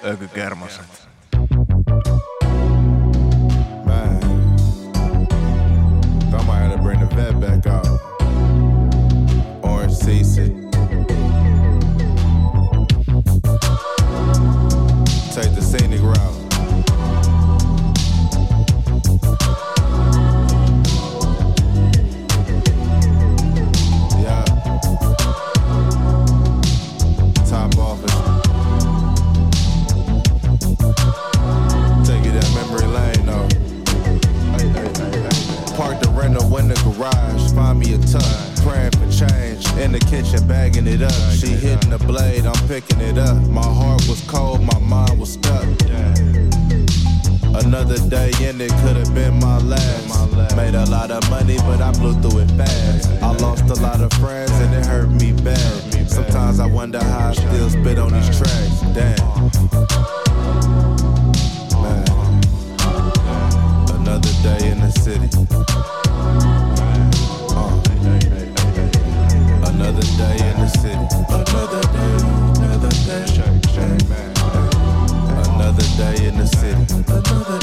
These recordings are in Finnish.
Ökykermaset. Man, I might have to bring the vet back out. Orange CC. Take the scenic route. Yeah. Top office. Take it that memory lane though. Park the rental in the garage, find me a ton. Praying for change, in the kitchen bagging it up. She hitting the blade, I'm picking it up. My heart was cold, my mind was stuck. Another day in it could've been my last. Made a lot of money, but I blew through it fast. I lost a lot of friends and it hurt me bad. Sometimes I wonder how I still spit on these tracks. Damn. Man. Another day in the city. Another day in the city. Another day, another day. Another day in the city. Another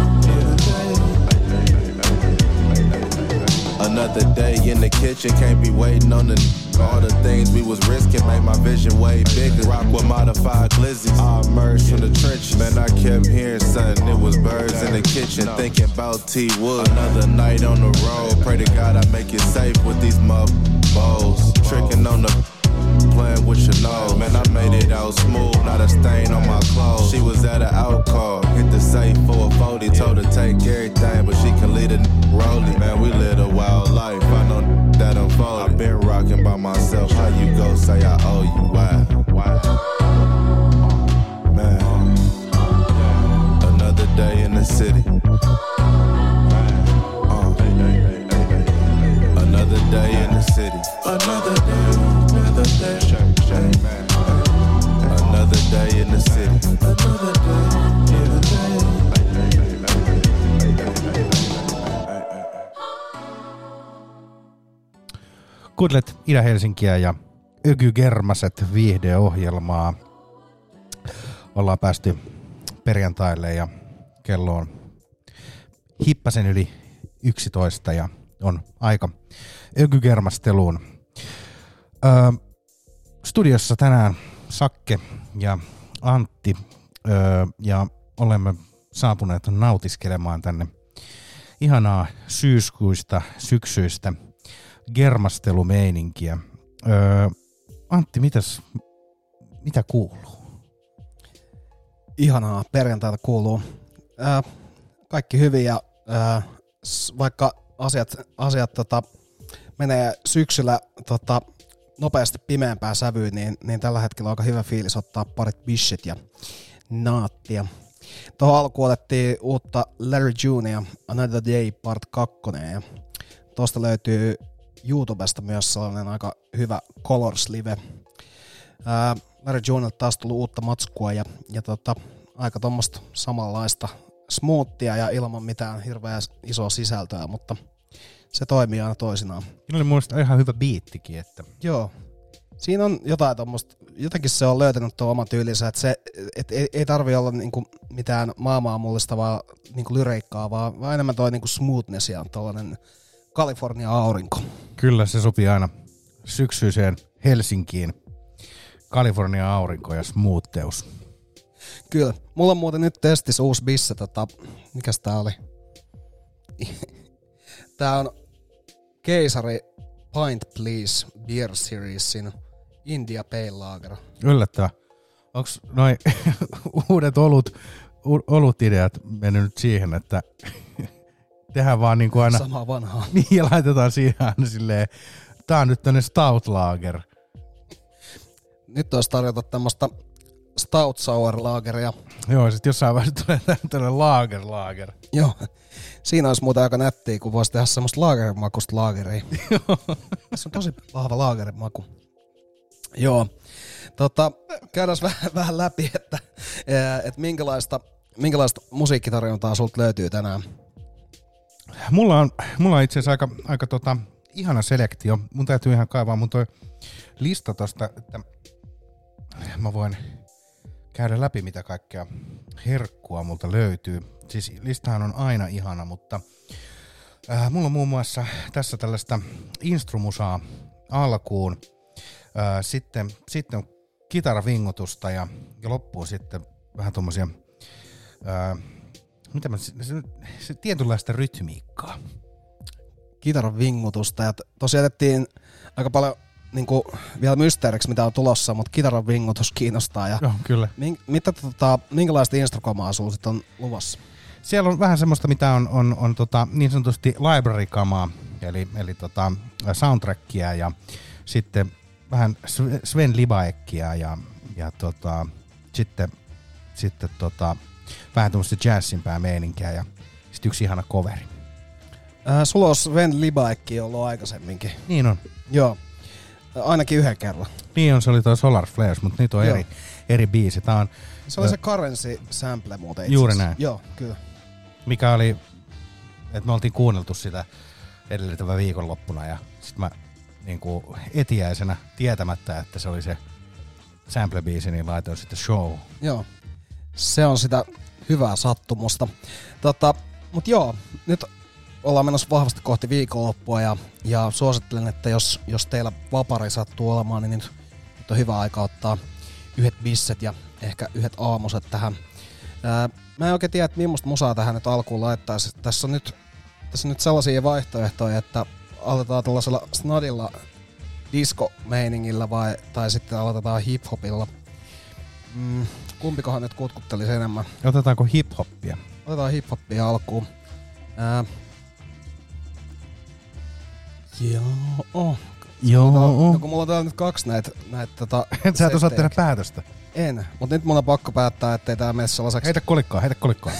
day. Another day in the kitchen. Can't be waiting on all the things we was risking. Made my vision way bigger. Rock with modified glizzies. I emerged from the trenches. Man, I kept hearing something. It was birds in the kitchen. Thinking about T-Wood. Another night on the road. Pray to God I make it safe with these bowls. Tricking on the playing with your nose. Man, I made it out smooth, not a stain on my clothes. She was at an out call, hit the safe for a 40. Told her take everything, but she can lead a rolling. Man, we live a wild life, I know that unfolded. I've been rocking by myself, how you go say I owe you, why? Man, another day in the city. Another day in the city. Another day, another day. Another day in the city. Another day, Kuuntelet Itä-Helsinkiä ja Ökykermaset viihdeohjelmaa. Ollaan päästy perjantaille ja kello on hippasen yli 11 ja on aika ökykermasteluun. Studiossa tänään Sakke ja Antti ja olemme saapuneet nautiskelemaan tänne ihanaa syyskuista, syksyistä germastelumeininkiä. Antti, mitä kuuluu? Ihanaa, perjantaita kuuluu. Kaikki hyvin ja vaikka asiat menee syksyllä nopeasti pimeämpään sävyyn, niin tällä hetkellä on aika hyvä fiilis ottaa parit bishet ja naattia. Tuohon alkuun otettiin uutta Larry Junea Another Day Part 2 ja tuosta löytyy YouTubesta myös sellainen aika hyvä Colors Live. Larry Junelta taas tullut uutta matskua ja aika tuommoista samanlaista smoothia ja ilman mitään hirveän isoa sisältöä, mutta se toimii aina toisinaan. Siinä oli mun mielestä ihan hyvä biittikin. Että. Joo. Siinä on jotain tommoista, jotenkin se on löytänyt tuon oman tyylinsä, että ei tarvi olla niinku mitään maailmaa mullistavaa niinku lyriikkaa, vaan enemmän toi niinku smoothness ja tollanen Kalifornia aurinko. Kyllä, se sopii aina syksyiseen Helsinkiin. Kalifornia aurinko ja smootheus. Kyllä. Mulla on muuten nyt testissä uusi bisse, mikäs tää oli? Tää on Keisari Pint Please Beer Seriesin India Pale Lager. Yllättävää. Onks noi uudet olutideat mennyt nyt siihen, että tehdään vaan niinku aina samaa vanhaa. Niin, ja laitetaan siihen aina silleen, tää on nyt tämmönen Stout Lager. Nyt olisi tarjota tämmöstä Stout Sour Lageria. Joo, sit jossain vaiheessa tulee tämmönen Lager. Joo. Siinä olisi muuten aika nättiä, kun voisi tehdä semmoista laagerimakusta laageria. Tässä on tosi vahva laagerimaku. Joo. Käydään vähän läpi, että minkälaista musiikkitarjontaa sulta löytyy tänään. Mulla on itse asiassa aika ihana selektio. Mun täytyy ihan kaivaa mun toi lista tosta, että mä voin käydä läpi, mitä kaikkea herkkua multa löytyy. Siis listahan on aina ihana, mutta mulla on muun muassa tässä tällaista instrumusaa alkuun, sitten kitaravingutusta ja loppuun sitten vähän tommosia, se tietynlaista rytmiikkaa. Kitaran vingutusta ja tosiaan jätettiin aika paljon niinku vielä mysteeriksi, mitä on tulossa, mutta kitaran vingutus kiinnostaa. Ja joo, kyllä. Minkälaista instrukomaa sulla sit on luvassa? Siellä on vähän semmoista, mitä on niin sanotusti library-kamaa, eli soundtrackia ja sitten vähän Sven Libaekkia ja sitten vähän tämmöistä jazzimpää meininkiä ja sitten yksi ihana coveri. Sulla on Sven Libaekki ollut aikaisemminkin. Niin on. Joo, ainakin yhden kerran. Niin on, se oli toi Solar Flares, mutta nyt on eri biisi. Tää on, se oli se Currency sample muuten itse. Juuri näin. Joo, kyllä. Mikä oli, että me oltiin kuunneltu sitä edellisenä viikonloppuna ja sit mä niinku etiäisenä tietämättä, että se oli se sample-biisi, niin laitoin sitten show. Joo, se on sitä hyvää sattumusta. Mut joo, nyt ollaan menossa vahvasti kohti viikonloppua ja suosittelen, että jos teillä vapari sattuu olemaan, niin nyt on hyvä aika ottaa yhdet bisset ja ehkä yhdet aamuset tähän. Mä en oikein tiedä, että millaista musaa tähän nyt alkuun laittaisi. Tässä on nyt sellaisia vaihtoehtoja, että aloitetaan tällaisella snadilla disco-meiningillä tai sitten aloitetaan hip-hopilla. Kumpikohan nyt kutkuttelisi enemmän? Otetaanko hip-hoppia? Otetaan hip-hoppia alkuun. Joo. No, kun mulla on täällä nyt kaksi näitä sä et osaa tehdä päätöstä. En, mutta nyt mun on pakko päättää, ettei tää mene sellaiseksi. Heitä kolikkoa.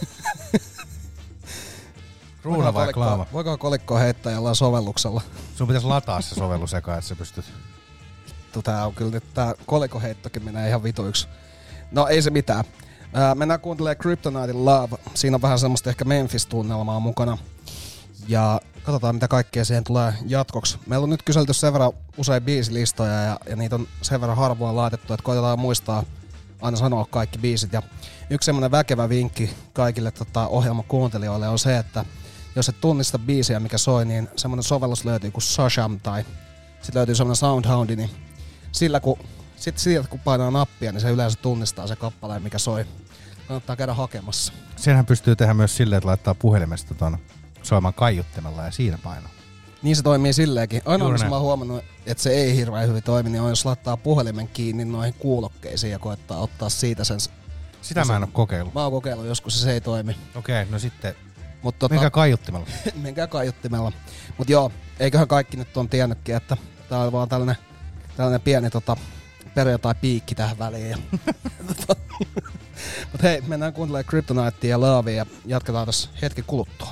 Kruuna vai klaava? Voiko kolikkoa heittää jollain sovelluksella? Sun pitäisi lataa se sovellus eka, että sä pystyt. Tää on kyllä nyt tää kolikoheittokin menee ihan vituiksi. No ei se mitään. Mennään kuuntelemaan Kryptonitin Love. Siinä on vähän semmoista ehkä Memphis-tunnelmaa mukana. Ja katsotaan mitä kaikkea siihen tulee jatkoksi. Meillä on nyt kyselty sen verran usein biisilistoja ja niitä on sen verran harvoin laitettu, että koitetaan muistaa aina sanoa kaikki biisit. Ja yksi semmoinen väkevä vinkki kaikille ohjelman kuuntelijoille on se, että jos et tunnista biisiä mikä soi, niin semmoinen sovellus löytyy kuin Shazam tai sitten löytyy semmoinen Soundhoundi, niin sillä kun painaa nappia, niin se yleensä tunnistaa se kappaleen mikä soi. Kannattaa käydä hakemassa. Senhän pystyy tehdä myös silleen, että laittaa puhelimesta soimaan kaiuttimella ja siinä painoa. Niin se toimii silleenkin. Ainoa, missä mä oon huomannut, että se ei hirveän hyvin toimi, niin on jos laittaa puhelimen kiinni noihin kuulokkeisiin ja koettaa ottaa siitä sen. Sitä mä en oo kokeillut. Mä oon kokeillut joskus, se ei toimi. Okei, no sitten menkää kaiuttimella. Menkää kaiuttimella. Mut joo, eiköhän kaikki nyt on tiennytkin, että tää on vaan tällainen pieni perjantai-piikki tähän väliin. Mut hei, mennään kuuntelemaan Kryptonitia ja Lovea ja jatketaan tässä hetki kuluttua.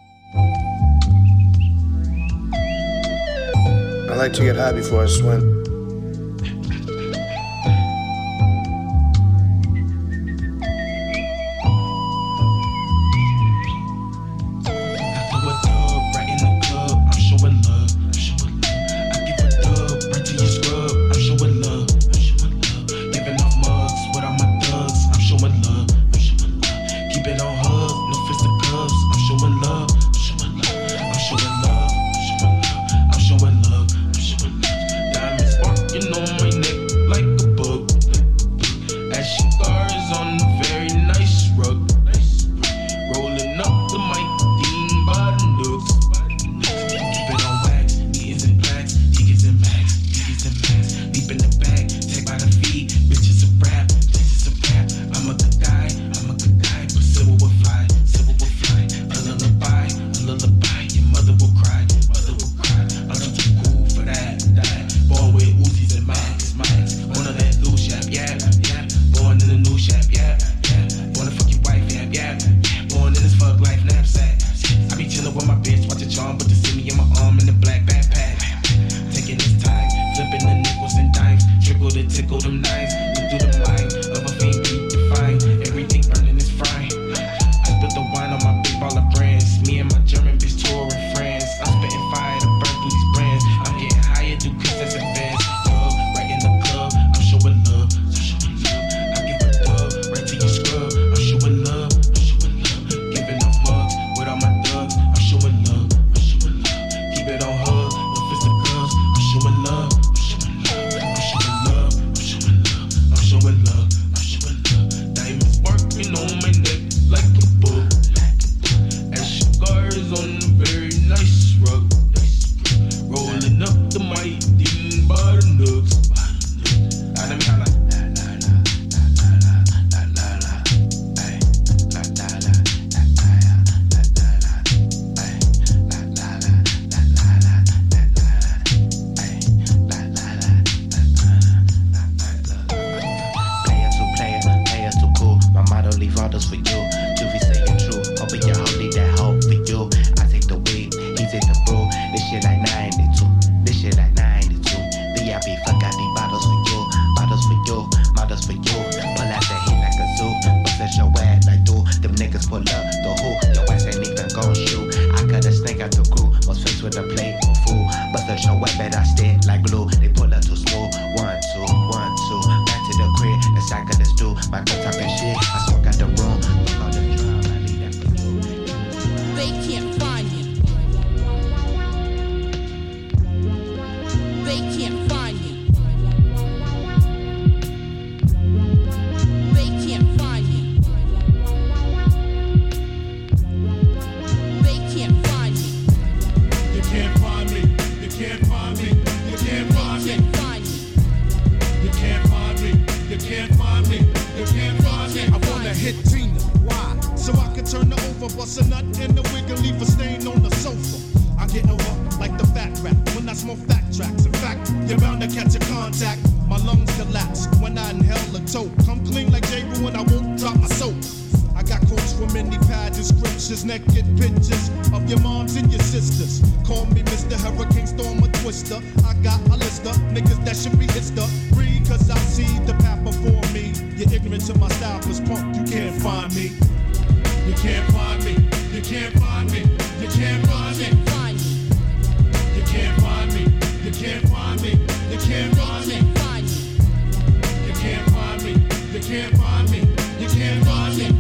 I like to get high before I swim. Diamonds orders for you. Pull out the heat like a zoo, bust your ass like do. Them niggas pull up the who, your ass ain't even gon' shoot. I cut a snake out the crew, was faced with a plate of food. Bust your ass, bet I stick like glue. They pull up too smooth, 1, 2, 1, 2. Back to the crib, the cyclists do. My cup talking shit, I smoke out the room. Fuck all the drum, I leave that for you. They can't find you. They can't find you. They can't find you. They can't find you. You can't find me. You can't find me. You can't find me. You can't find me. You can't find me. You can't find me. I wanna hit Tina. Why? So I can turn her over, bust a nut in the wig and leave a stain on the sofa. I get over like the fat rap when I smoke fat tracks. In fact, you're bound to catch a contact. My lungs collapse when I inhale a toke. Come clean like J. Rue and I won't drop my soap. I got quotes from many pageant scriptures, naked pictures of your moms and your sisters. Call me Mr. Hurricane Storm or Twister. I got a list of niggas that should be history, cause I see the path before me. You're ignorant to my style, cause punk, you can't find me. You can't find me. You can't find me. You can't find me. You can't find me. You can't find me. You can't find me. You can't find me. You can't find me. You can't find me.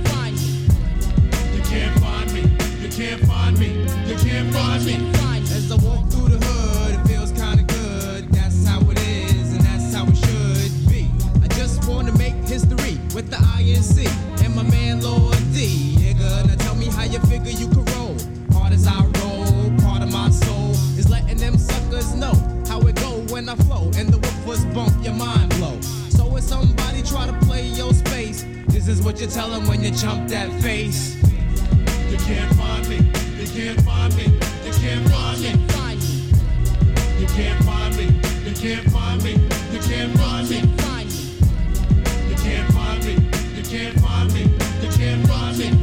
You can't find me. You can't find me. You can't find me. As I walk through the hood, it feels kinda good. That's how it is, and that's how it should be. I just wanna make history with the INC and my man Lord D. Nigga, now tell me how you figure you can roll. Hard as I roll, part of my soul is letting them suckers know how it go when I flow. And the woofers bump your mind blow. So when somebody try to play your space, this is what you tell them when you jump that face. You can't find me. You can't find me. You can't find me. You can't find me. You can't find me. You can't find me. You can't find me. You can't find me. You can't find me.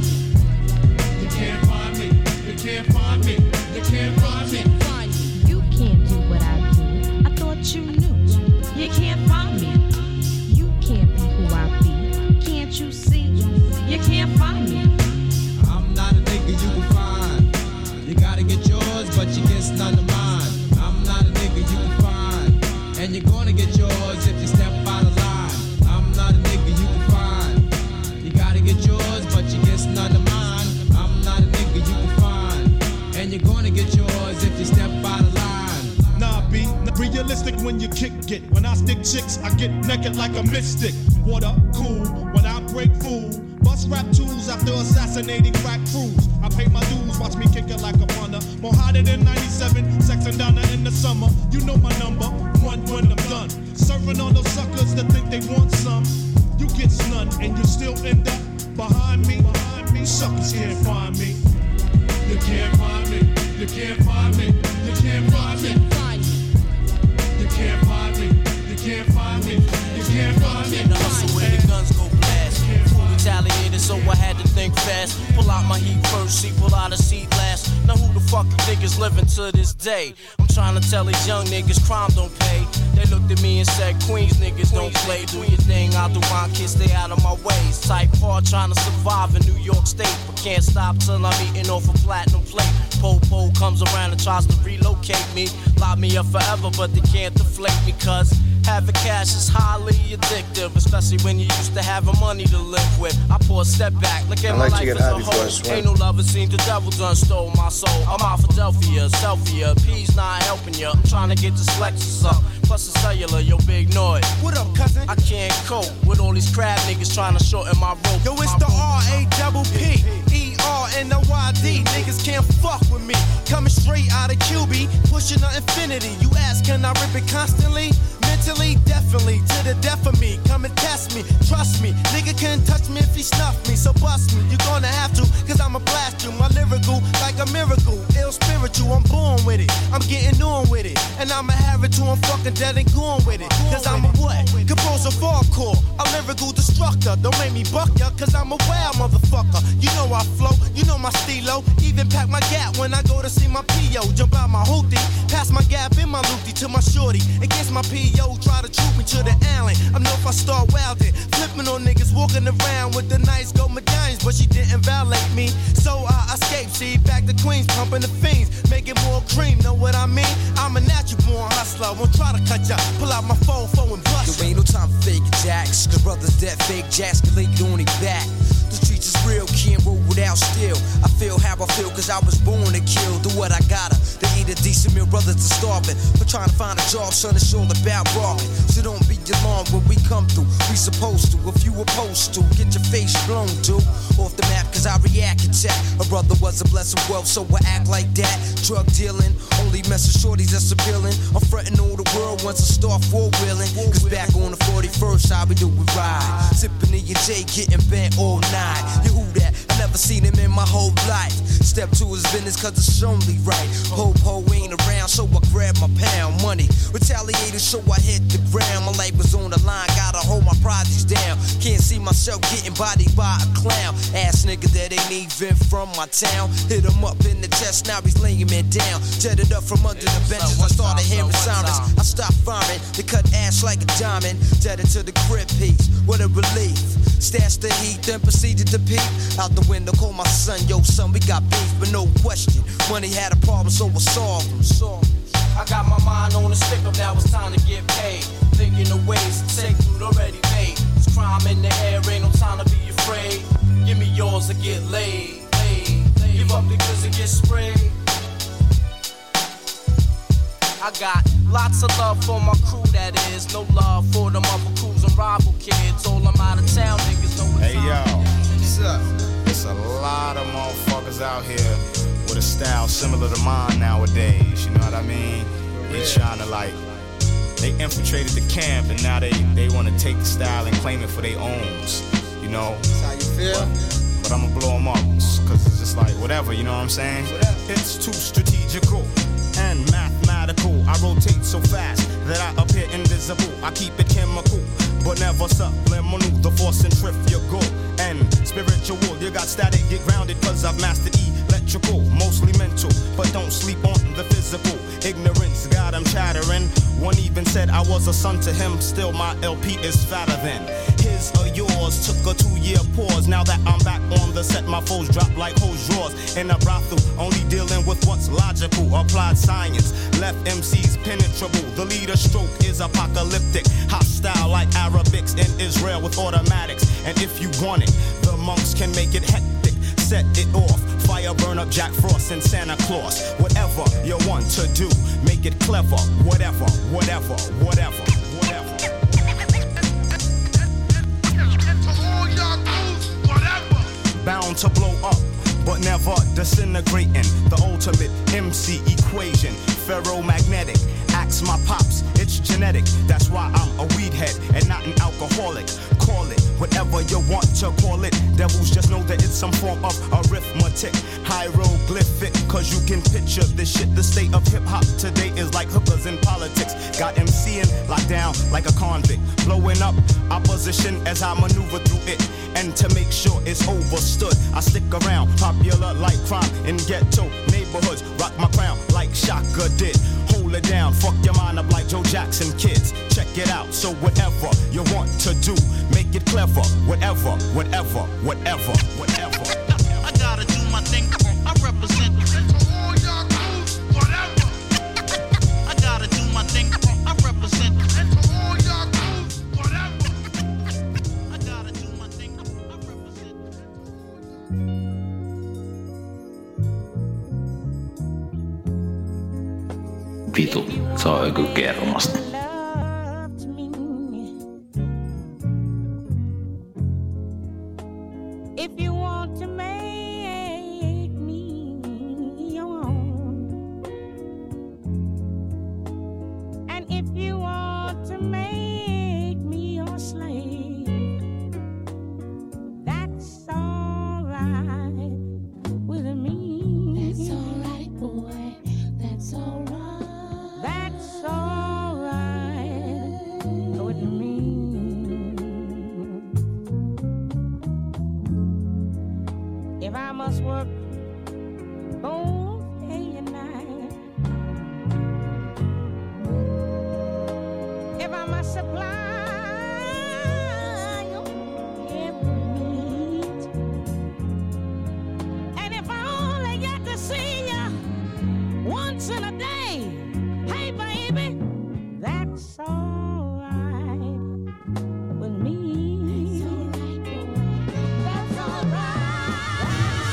You can't find me. You can't find me. You can't find me. You can't do what I do. I thought you knew. You can't find me. You can't be who I be. Can't you see? You can't find me. I'm not a nigga you can find. You gotta get yours, but you get none of mine. I'm not a nigga you can find. And you're gonna get yours if you step out of line. I'm not a nigga you can find. You gotta get yours, but you get none of mine. I'm not a nigga you can find. And you're gonna get yours if you step out of line. Nah, be realistic when you kick it. When I stick chicks, I get naked like a mystic. Water cool when I break fool. Bust rap tools after assassinating crack crews. I pay my dues, watch me kick it like a punter. More hotter than 97, sex and Donna in the summer. You know my number, 1 when I'm done. Serving all those suckers that think they want some. You get snunned and you still end up behind me. Suckers can't find me. You can't find me. You can't find me. You can't find me. You can't find me. You can't find me. You can't find me. In the hustle where the guns go blast. Full retaliated, so I had to think fast. Pull out my heat first, see, pull out a seat last. Now who the fuck you think is living to this day? I'm trying to tell these young niggas crime don't pay. They looked at me and said, Queens niggas don't play. Do your thing, I'll do mine, kids stay out of my ways. Type hard trying to survive in New York State, but can't stop till I'm eating off a platinum plate. Po-po comes around and tries to relocate me. Lock me up forever, but they can't deflate me, cause having cash is highly addictive, especially when you used to having money to live with. I pour a step back, look at my life as a whole. Ain't no lover seen the devil done stole my soul. I'm out Philadelphia, Selfie, P's not helping ya. I'm trying to get this Lexus up, plus a cellular, yo big noise. What up, cousin? I can't cope with all these crab niggas trying to shorten my rope. Yo, it's the R-A-double-P, E-R-N-O-Y-D. Niggas can't fuck with me. Coming straight out of QB, pushing the infinity. You ask, can I rip it constantly? Mentally, definitely, to the death of me. Come and test me, trust me. Nigga can't touch me if he snuff me, so bust me. You're gonna have to, cause I'ma blast you. My lyrical, like a miracle. Ill spiritual, I'm born with it. I'm getting on with it. And I'ma have it till I'm fucking dead and gone with it. Cause I'm a what? Composer for a hardcore, a lyrical destructor. Don't make me buck ya, cause I'm a wild motherfucker. You know I flow, you know my stilo. Even pack my gap when I go to see my P.O. Jump out my hoopty, pass my gap in my loopty to my shorty. Against my P.O. try to troop me to the alley. I know if I start wildin', flipping on niggas walking around with the nice gold medallions, but she didn't violate me. So I escaped, see, back to Queens, pumping the fiends, making more cream, know what I mean? I'm a natural born hustler, won't try to cut ya, pull out my phone and bust. There ain't no time for fake jacks, cause brothers that fake jacks can lay it on their back. The streets is real, can't roll without steel. I feel how I feel cause I was born to kill. Do what I gotta, to eat a decent meal, brothers are starving. But trying to find a job, son, it's all about robbing. So don't be alarmed when we come through, we supposed to. If you opposed to, get your face blown, dude. Off the map cause I react and chat. A brother was a blessed wealth, so I act like that. Drug dealing, only messing shorties that's appealing. I'm frontin' all the world once I start four-wheeling. Cause back on the 41st, how we do it ride. Sippin' E&J, getting bent all night. You who that? I never seen him in my whole life. Step to his business cause it's only right. Ho-ho ain't around, so I grab my pound money. Retaliated, so I hit the ground. My life was on the line, gotta hold my projects down. Can't see myself getting bodied by a clown. Ass nigga that ain't even from my town. Hit him up in the chest, now he's laying me down. Jetted up from under the benches, I started hearing silence. I stopped farming, they cut ash like a diamond. Jetted to the crib piece, what a relief. Stashed the heat, then proceeded to peep. Out the window, call my son, yo son, we got beef, but no question. Money had a problem, so I solved him. I got my mind on the stick up, now it's time to get paid. Thinking of ways to take food already made. It's crime in the air, ain't no time to be afraid. Give me yours or get laid. Give up because it gets sprayed. I got lots of love for my crew, that is. No love for them other crews and rival kids. All them out of town niggas know Hey yo, what's up? There's a lot of motherfuckers out here with a style similar to mine nowadays, you know what I mean? They trying to like, they infiltrated the camp and now they want to take the style and claim it for their owns, you know? That's how you feel? But I'ma blow them up, cause it's just like whatever, you know what I'm saying? It's too strategical and mathematical. I rotate so fast that I appear invisible. I keep it chemical, but never subliminal. The force centrifugal and spiritual. You got static, get grounded, cause I've mastered electrical. Mostly mental, but don't sleep on the physical. Ignorance got him chattering. One even said I was a son to him. Still my LP is fatter than his or yours. Took a 2-year pause. Now that I'm back on the set, my foes drop like hose drawers. In a brothel, only dealing with what's logical. Applied science, left MCs penetrable. The leader stroke is apocalyptic. Hostile like Arabics in Israel with automatics. And if you want it, the monks can make it hectic. Set it off, fire burn up Jack Frost and Santa Claus. Whatever you want to do, make it clever. Whatever, whatever, whatever, whatever. Bound to blow up, but never disintegrating. The ultimate MC equation, ferromagnetic. Ask my pops, it's genetic. That's why I'm a weed head and not an alcoholic. Call it whatever you want to call it. Devils just know that it's some form of arithmetic. Hieroglyphic, cause you can picture this shit. The state of hip-hop today is like hookers in politics. Got MCing locked down like a convict. Blowing up opposition as I maneuver through it. And to make sure it's overstood, I stick around, popular like crime in ghetto neighborhoods. Rock my crown like Shaka did. Hold it down, fuck your mind up like Joe Jackson kids. Check it out, so whatever you want to do, make it clever. Whatever, whatever, whatever, whatever. I gotta do my thing, I represent all y'all crews, whatever. I gotta do my thing, I represent all y'all crews, whatever. I gotta do my thing, I represent. Vitu, se on joku kermasta. If you want to make me your own, and if you want to make me your slave, that's all right with me. That's all right, boy. That's all right. That's all right. crosswork both day and night. If I must supply your every need, and if I only get to see you once in a day, hey baby, that's all right with me. That's all right.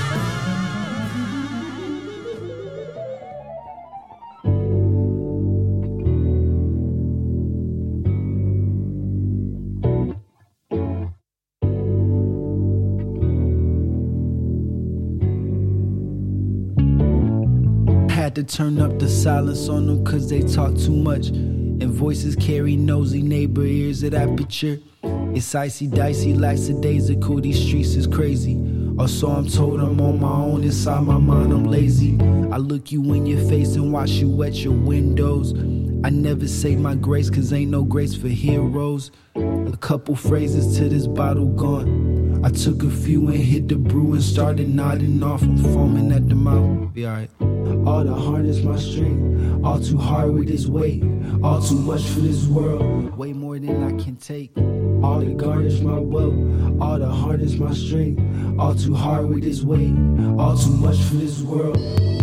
Had to turn up the silence on them cause they talk too much. And voices carry nosy neighbor ears at aperture. It's icy dicey, lackadaisical, these streets is crazy. Or so I'm told, I'm on my own, inside my mind I'm lazy. I look you in your face and watch you wet your windows. I never say my grace cause ain't no grace for heroes. A couple phrases to this bottle gone. I took a few and hit the brew and started nodding off. I'm foaming at the mouth, be alright. All the harness my strength, all too hard with this weight. All too much for this world, way more than I can take. All to garnish my wealth, all to harness my strength. All too hard with this weight, all too much for this world.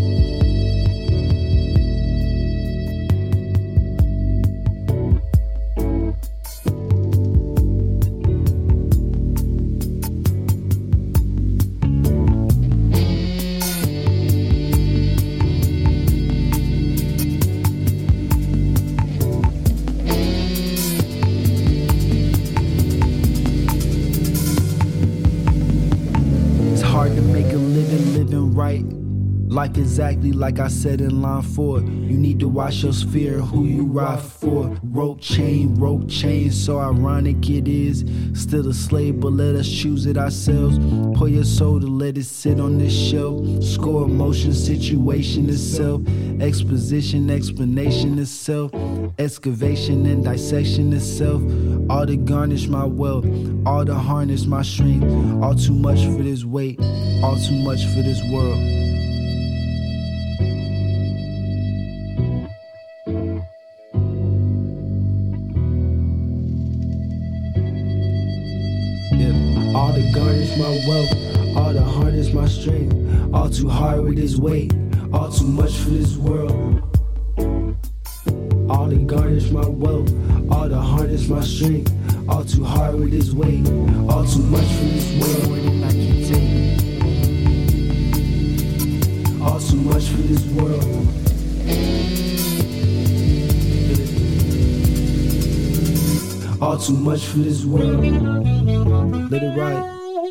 Life exactly like I said in line 4. You need to watch your sphere, who you ride for. Rope chain, so ironic it is. Still a slave, but let us choose it ourselves. Pour your soul to let it sit on this shelf. Score emotion, situation itself. Exposition, explanation itself. Excavation and dissection itself. All to garnish my wealth, all to harness my strength. All too much for this weight, all too much for this world. All to garnish my wealth, all to harness my strength. All too hard with this weight, all too much for this world. All to garnish my wealth, all to harness my strength. All too hard with this weight, all too much for this world. More than I can take, all too much for this world. All too much for this world. Let it ride.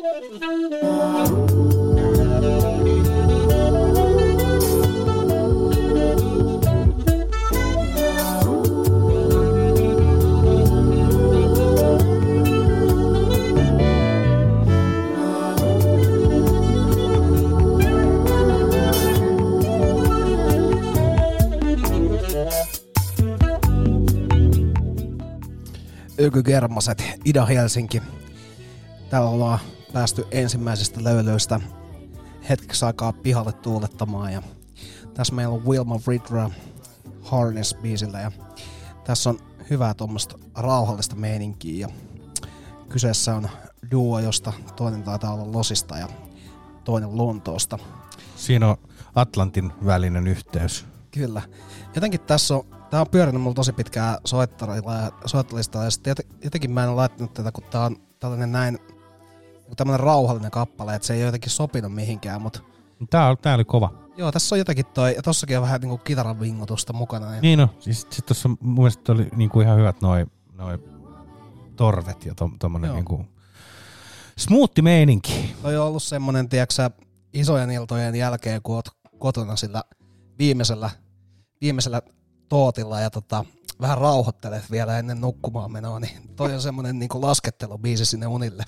Ökygermaset, Ida-Helsinki. Täällä ollaan päästy ensimmäisestä löylöistä hetkeksi aikaa pihalle tuulettamaan. Ja tässä meillä on Wilma Ridra Harness-biisillä. Ja tässä on hyvää tuommoista rauhallista meininkiä. Ja kyseessä on duo, josta toinen taitaa olla Losista ja toinen Lontoosta. Siinä on Atlantin välinen yhteys. Kyllä. Jotenkin tää on pyörinyt mulla tosi pitkään soittelistalla ja sitten jotenkin mä en ole laittanut tätä, kun tää on tämmönen rauhallinen kappale, että se ei ole jotenkin sopinut mihinkään, mut Tää oli kova. Joo, tässä on jotakin ja tossakin on vähän niinku kitaran vingutusta mukana. Ja Niin no, siis sit tossa mun mielestä oli niinku ihan hyvät noi torvet ja tommonen niinku smoothi meininki. Toi on ollut semmonen, tiiäksä, isojen iltojen jälkeen, kun oot kotona sillä viimeisellä tootilla ja vähän rauhoittelet vielä ennen nukkumaan menoa, niin toi on semmonen niinku laskettelubiisi sinne unille.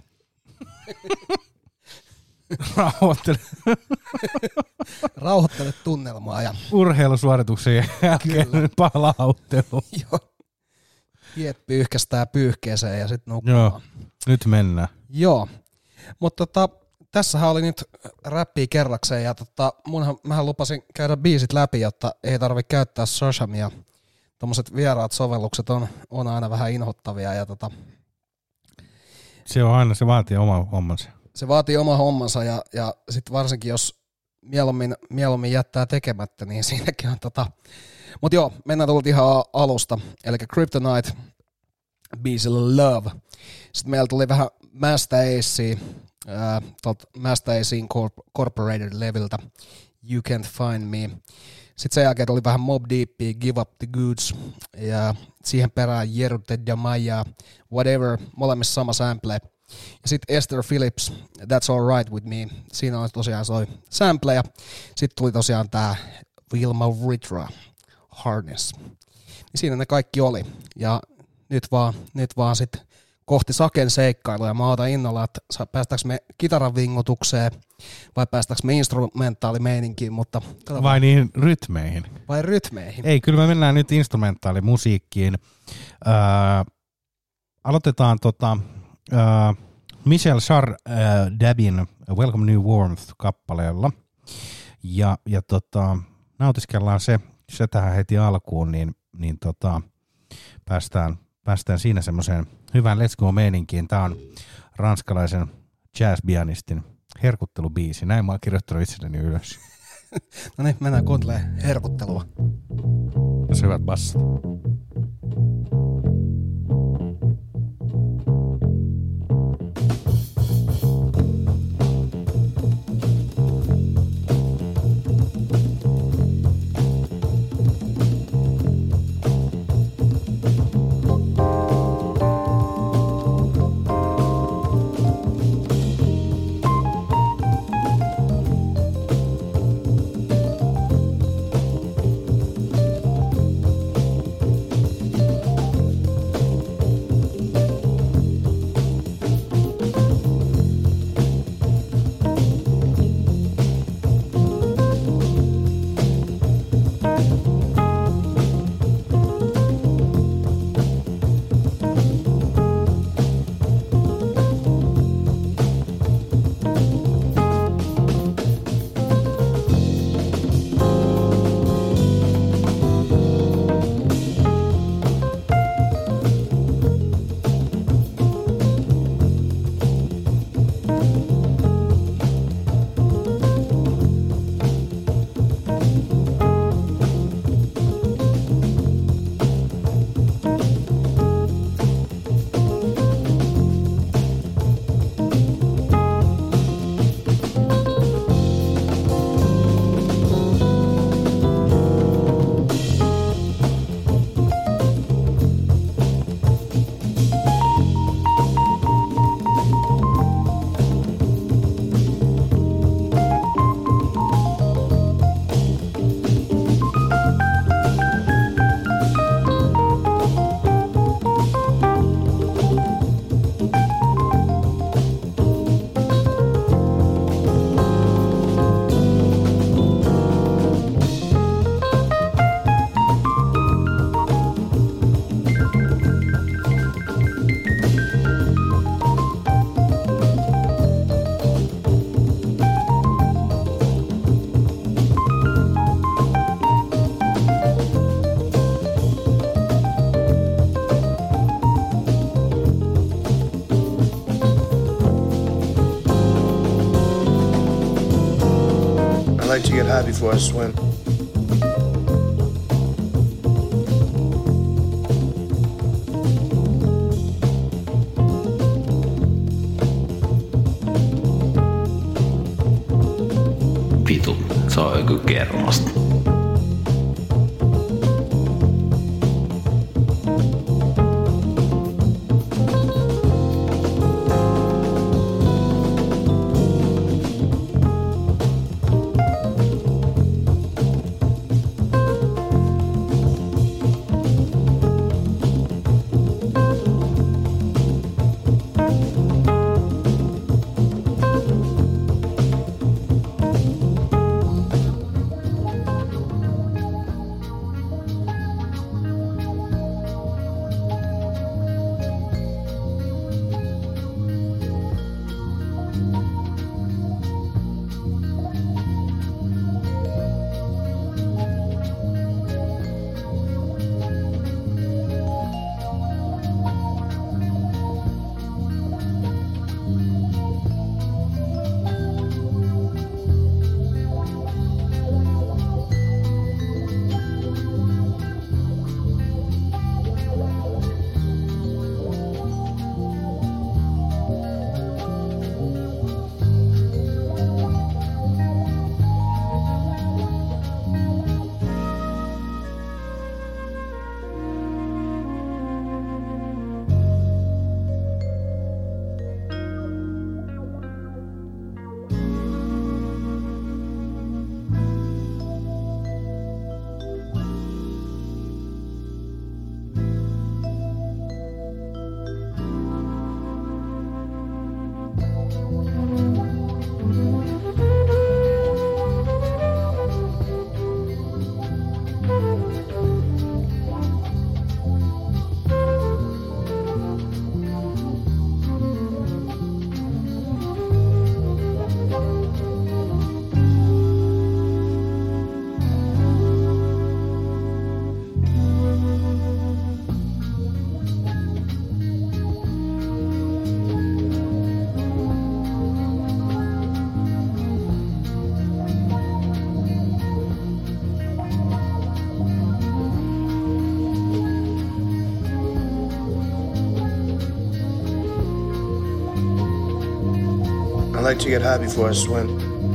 Rauhoittelet tunnelmaa ja urheilusuorituksen jälkeen palauttelu. Joo. Hiet pyyhkästää pyyhkeeseen ja sit nukkumaan. Joo, nyt mennään. Joo, mutta tässähän oli nyt räppiä kerrakseen ja mähän lupasin käydä biisit läpi, jotta ei tarvitse käyttää Shazamia. Tommoset vieraat sovellukset on aina vähän inhottavia ja se on aina, se vaatii oma hommansa. Se vaatii oma hommansa ja sit varsinkin jos mieluummin jättää tekemättä, niin siinäkin on Mut joo, mennään tullut ihan alusta. Eli Kryptonite biisillä Love. Sitten meillä tuli vähän Masta Acea, Masta Acea Incorporated leviltä You Can't Find Me. Sitten sen jälkeen tuli vähän Mobb Deepia, Give Up the Goods, ja siihen perään Jerute Damaya, Whatever, molemmissa sama sample. Ja sitten Esther Phillips, That's All Right With Me, siinä on tosiaan soi sample, ja sitten tuli tosiaan tää Wilma Ritra, Harness. Ja siinä ne kaikki oli, ja nyt vaan sitten kohti Saken seikkailuja. Mä ootan innolla, että päästäänkö me kitaran vingutukseen vai päästäänkö me instrumentaalimeininkiin, mutta... Vai niihin rytmeihin? Vai rytmeihin? Ei, kyllä me mennään nyt instrumentaalimusiikkiin. Aloitetaan Michel Chardabin Welcome New Warmth-kappaleella. Ja nautiskellaan se tähän heti alkuun, niin päästään siinä semmoiseen hyvään Let's Go-meininkiin. Tää on ranskalaisen jazz-pianistin herkuttelubiisi. Näin mä oon kirjoittanut itselleni ylös. No niin, mennään kuuntelemaan herkuttelua. Jos hyvät bassat. like to get high before I swim. Vitu, se on joku kermasta. I like to get high before I swim.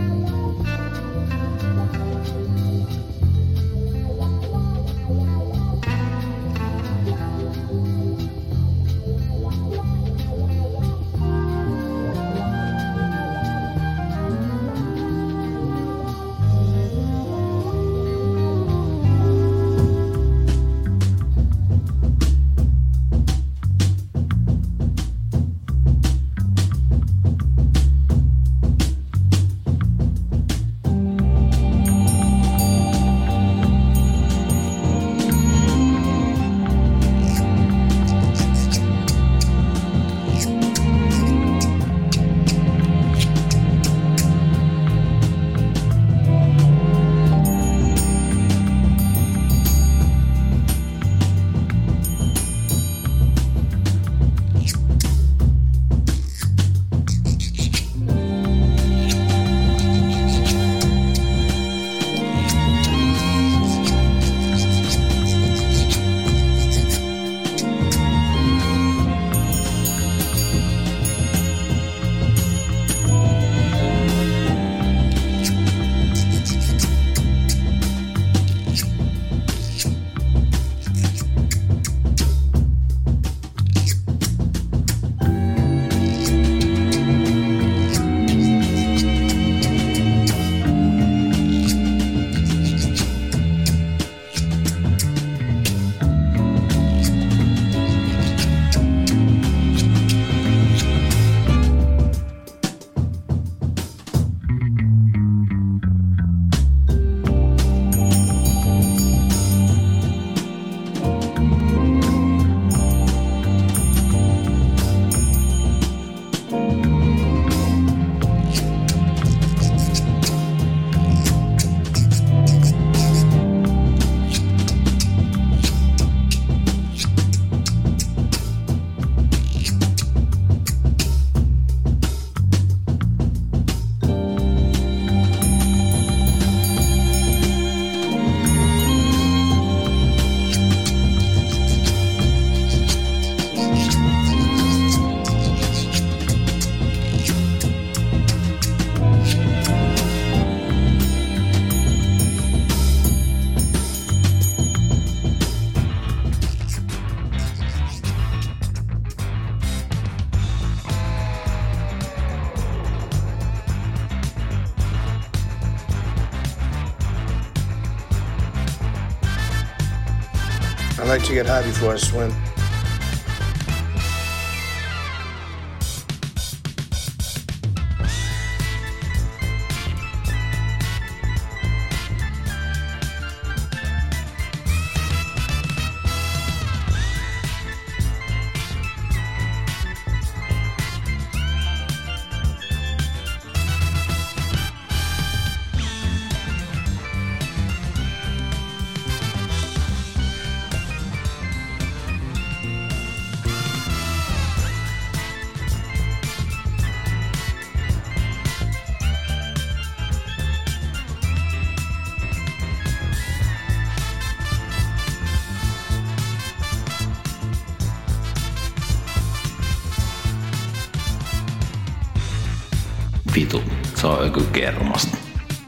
I like to get high before I swim. Vitu, se on joku kermasta.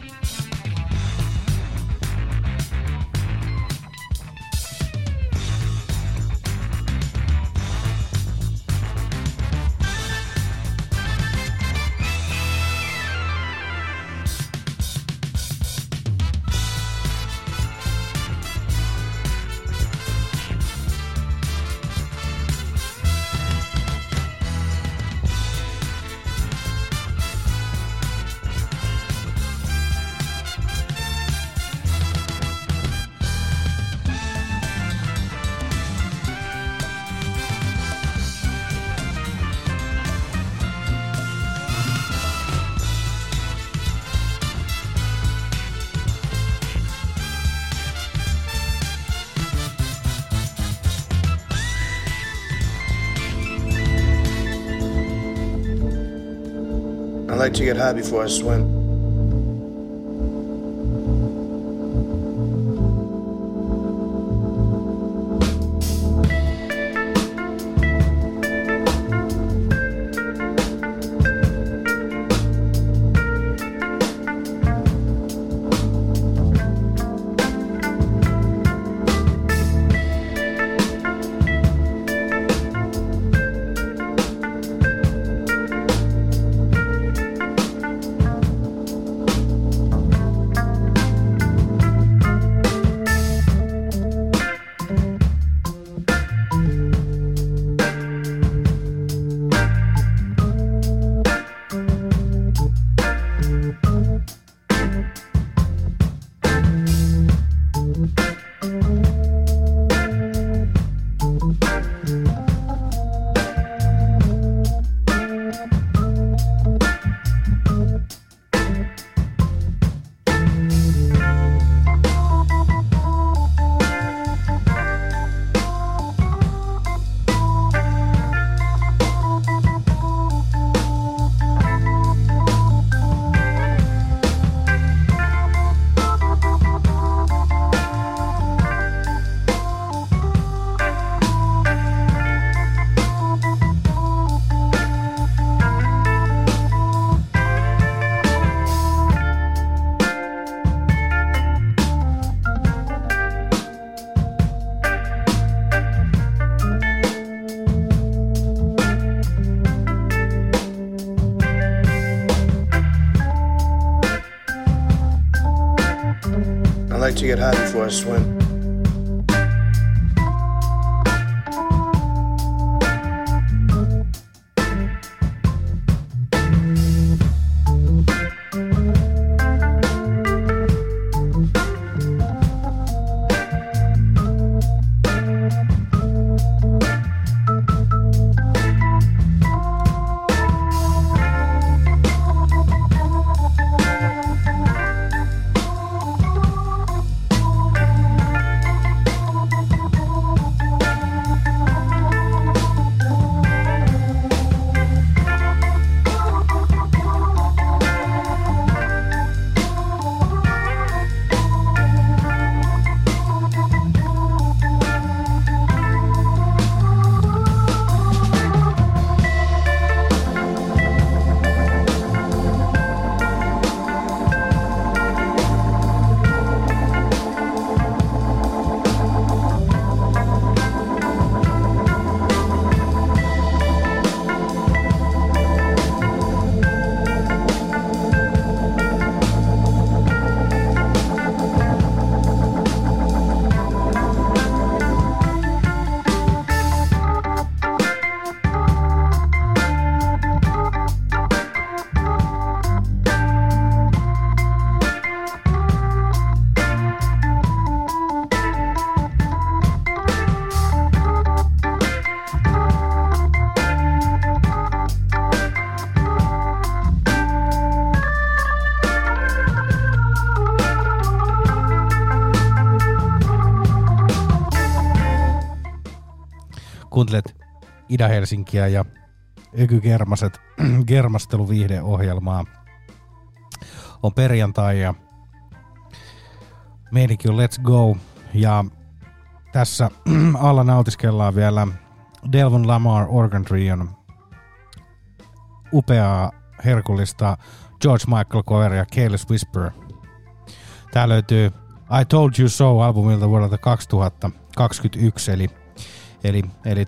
I like to get high before I swim. like to get high before I swim. Kuuntelet Ida-Helsinkiä ja Öky Germaset germasteluviihdeohjelmaa. On perjantai ja meininki on Let's Go. Ja tässä alla nautiskellaan vielä Delvon Lamar Organ Trion upeaa herkullista George Michael coveria Careless Whisper. Tää löytyy I Told You So -albumilta vuodelta 2021, eli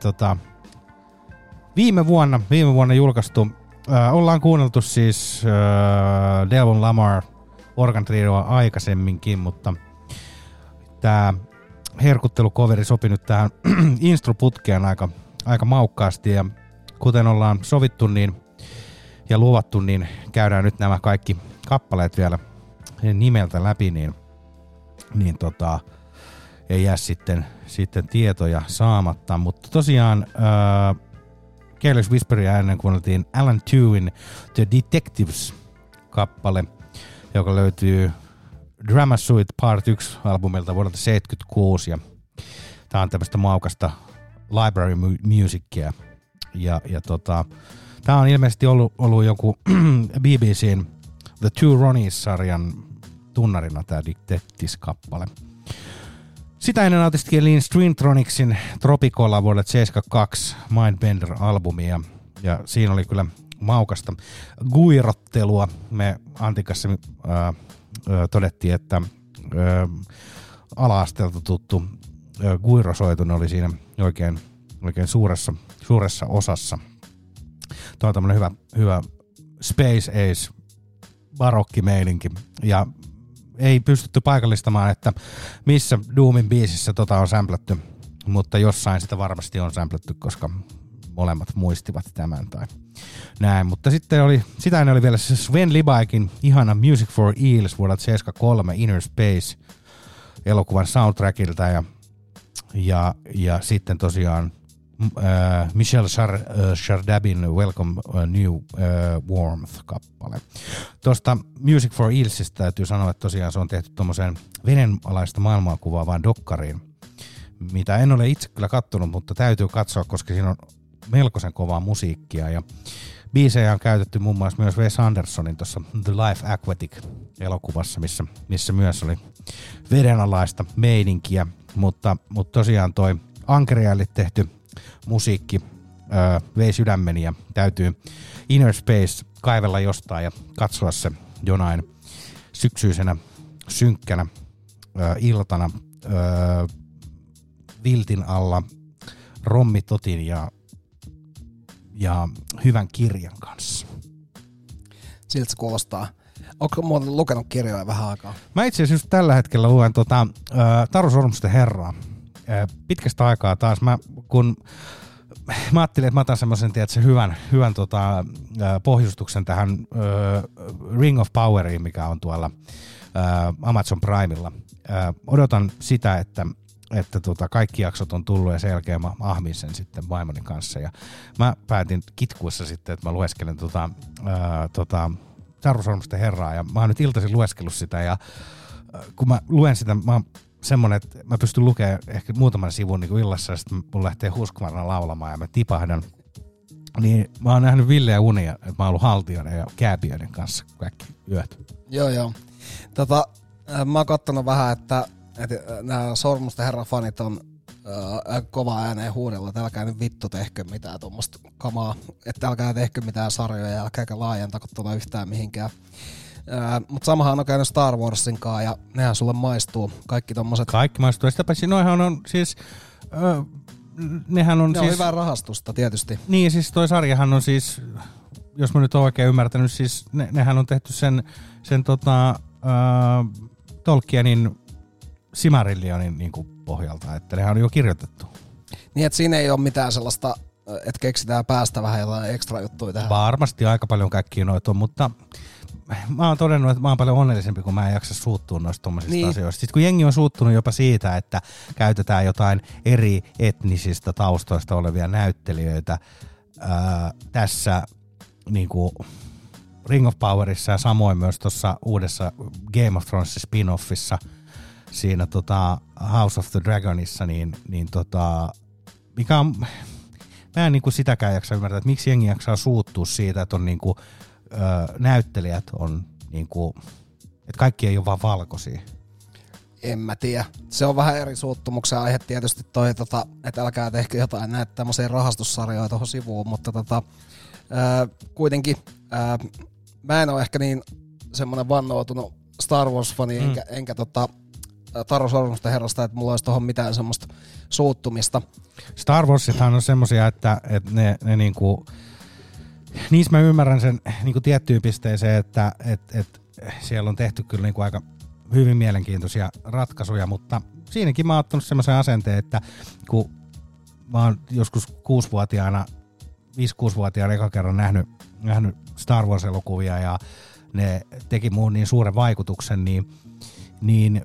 viime vuonna julkaistu. Ollaan kuunneltu siis Delvon Lamar Organ Trioa aikaisemminkin, mutta tää herkuttelukoveri sopi nyt tähän instruputkeen aika maukkaasti, ja kuten ollaan sovittu ja luvattu, niin käydään nyt nämä kaikki kappaleet vielä nimeltä läpi, niin ei jää sitten tietoja saamatta. Mutta tosiaan Careless Whisperia ennen kuunneltiin Alan Tuin The Detectives-kappale, joka löytyy Drama Suite Part 1 -albumilta vuodelta 1976, ja tää on tämmöistä maukasta library musicia, ja tää on ilmeisesti ollut joku BBCn The Two Ronnies-sarjan tunnarina tää Detectives-kappale. Sitä ennen nautiskelin Stringtronicsin Tropicolla vuodelta 1972 Mindbender-albumia, ja siinä oli kyllä maukasta guirottelua. Me Antin kanssa todettiin, että ala-asteelta tuttu guirosoitun oli siinä oikein suuressa osassa. Tuo on tämmönen hyvä Space Ace barokkimeininki, ja ei pystytty paikallistamaan, että missä Doomin biisissä on samplattu, mutta jossain sitä varmasti on samplattu, koska molemmat muistivat tämän tai näin. Mutta sitten sitä ennen oli vielä se Sven Libaikin ihana Music for Eels vuodelta 1973 Inner Space elokuvan soundtrackilta, ja sitten tosiaan Michel Chardabin Welcome New Warmth-kappale. Tuosta Music for Eelsistä täytyy sanoa, että tosiaan se on tehty tuommoiseen vedenalaista maailmaa kuvaavaan dokkariin, mitä en ole itse kyllä kattonut, mutta täytyy katsoa, koska siinä on melkoisen kovaa musiikkia, ja biisejä on käytetty muun muassa myös Wes Andersonin tuossa The Life Aquatic-elokuvassa, missä myös oli vedenalaista meininkiä, mutta tosiaan toi Ankeriaille tehty musiikki vei sydämeni, ja täytyy Inner Space kaivella jostain ja katsoa se jonain syksyisenä synkkänä iltana viltin alla rommitotin ja hyvän kirjan kanssa. Siltä se kuulostaa. Onko muuten lukenut kirjoja vähän aikaa? Mä itse asiassa just tällä hetkellä luen Taru Sormusten herraa. Pitkästä aikaa taas, kun mä ajattelin, että mä otan semmoisen hyvän pohjustuksen tähän Ring of Poweriin, mikä on tuolla Amazon Primella. Odotan sitä, että kaikki jaksot on tullut ja sen jälkeen mä ahmin sen sitten vaimoni kanssa. Ja mä päätin kitkuissa sitten, että mä lueskelen Taru Sormusten herraa ja mä oon nyt iltaisin lueskellut sitä ja kun mä luen sitä, mä oon semmonen, että mä pystyn lukemaan ehkä muutaman sivun niin kuin illassa ja sitten mun lähtee Husqvarna laulamaan ja mä tipahdan. Niin mä oon nähnyt villeä unia, että mä oon ollut haltijoiden ja kääpiöiden kanssa kaikki yöt. Joo. Mä oon kattonut vähän, että nämä Sormusten herran fanit on kova ääneen huudella, että älkää nyt vittu tehkö mitään tuommoista kamaa, että älkää tehkö mitään sarjoja ja älkääkä laajentako tuolla yhtään mihinkään. Mutta samahan on käynyt Star Warsin kanssa ja nehän sulle maistuu, kaikki tommoset. Kaikki maistuu, ja sitä paitsi noihan on siis, nehän on ne siis... on hyvää rahastusta tietysti. Niin, siis toi sarjahan on siis, jos mä nyt oon oikein ymmärtänyt, siis nehän on tehty sen Tolkienin Silmarillionin niinku pohjalta, että nehän on jo kirjoitettu. Niin, että siinä ei ole mitään sellaista, että keksitään päästä vähän jotain ekstra juttuja tähän. Varmasti aika paljon kaikkia noita on, mutta mä oon todennut, että mä oon paljon onnellisempi, kun mä en jaksa suuttua noista tommosista asioista. Sitten kun jengi on suuttunut jopa siitä, että käytetään jotain eri etnisistä taustoista olevia näyttelijöitä tässä niinku Ring of Powerissa ja samoin myös tuossa uudessa Game of Thrones spin-offissa siinä House of the Dragonissa, niin mikä on, mä en niinku sitäkään jaksa ymmärtää, että miksi jengi jaksaa suuttua siitä, että on niinku näyttelijät on niinku, että kaikki ei ole vaan valkoisia. En mä tiedä. Se on vähän eri suuttumuksen aihe tietysti toi, että älkää tehkö jotain näitä tämmöisiä rahastussarjoja tuohon sivuun, mutta kuitenkin mä en ole ehkä niin semmoinen vannoutunut Star Wars-fani, enkä Taru Sormusten herrasta, että mulla olisi tohon mitään semmoista suuttumista. Star Warsithan on semmosia, että ne niinku, niissä mä ymmärrän sen niinku tiettyyn pisteeseen, että siellä on tehty kyllä niinku aika hyvin mielenkiintoisia ratkaisuja, mutta siinäkin mä oon ottanut semmoisen asenteen, että kun mä oon joskus 5-6-vuotiaana eka kerran nähnyt Star Wars-elokuvia ja ne teki muun niin suuren vaikutuksen, niin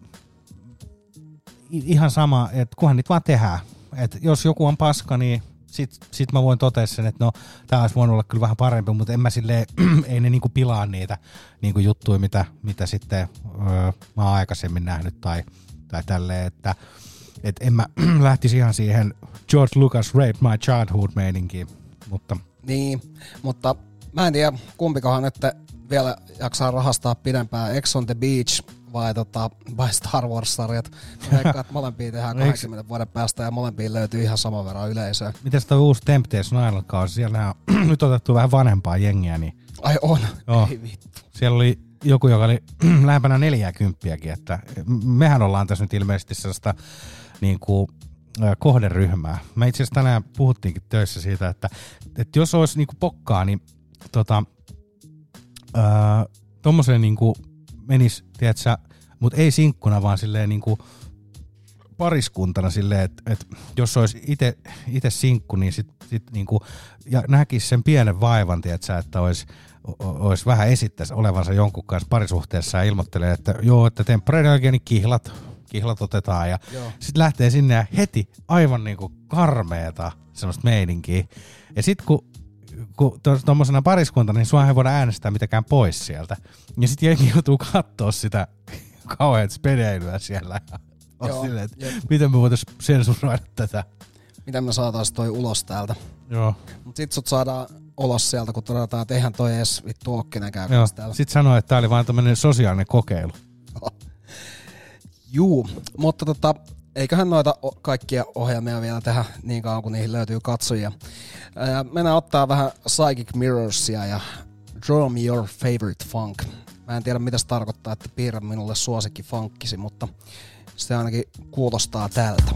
ihan sama, että kunhan niitä vaan tehdään. Että jos joku on paska, niin sit mä voin totea sen, että no tää olisi voinut olla kyllä vähän parempi, mutta en mä silleen, ei ne niinku pilaa niitä niinku juttuja, mitä sitten mä oon aikaisemmin nähnyt tai tälleen, että en mä lähtisi ihan siihen George Lucas Rape My Childhood -meininkiin, mutta... Niin, mutta mä en tiedä kumpikohan nyt vielä jaksaa rahastaa pidempään, Ex on the Beach vai Star Wars-sarjat. Veikkaan, että molempia tehdään 20 vuoden päästä ja molempiin löytyy ihan saman verran yleisöä. Mites toi uusi Temptation Island-kausi? Siellä on nyt otettu vähän vanhempaa jengiä. Niin... Ai on? Joo. Ei vittu. Siellä oli joku, joka oli lähempänä 40-kin, että mehän ollaan tässä nyt ilmeisesti sellaista niin kuin kohderyhmää. Me itse asiassa tänään puhuttiinkin töissä siitä, että jos olisi niin kuin pokkaa, niin tommoseen niin kuin menisi, tiedätkö, mutta ei sinkkuna, vaan silleen niin kuin pariskuntana silleen, että jos olisi itse sinkku, niin sit niin kuin, ja näkisi sen pienen vaivan, tiedätkö, että olisi vähän esittäisi olevansa jonkun kanssa parisuhteessa ja ilmoittelee, että joo, että temporeiden oikein niin kihlat otetaan ja sitten lähtee sinne ja heti aivan niin kuin karmeeta semmoista meininkiä. Ja sitten kun tuommoisena pariskuntana, niin sua ei voida äänestää mitäkään pois sieltä. Ja sitten jengi joutuu katsoa sitä kauheat spedeilyä siellä. Ja silleen, että miten me voitaisiin sensuroida tätä. Miten me saataisiin toi ulos täältä. Joo. Mut sit sut saadaan ulos sieltä, kun todetaan, että eihän toi edes vittu ookkinen käymässä täällä. Sit sanoo, että tää oli vaan tämmönen sosiaalinen kokeilu. Juu, mutta eiköhän noita kaikkia ohjelmia vielä tehdä niin kauan, kun niihin löytyy katsojia. Mennään ottaa vähän Psychic Mirrorsia ja Draw Me Your Favorite Funk. Mä en tiedä, mitä se tarkoittaa, että piirrä minulle suosikki funkkisi, mutta se ainakin kuulostaa tältä.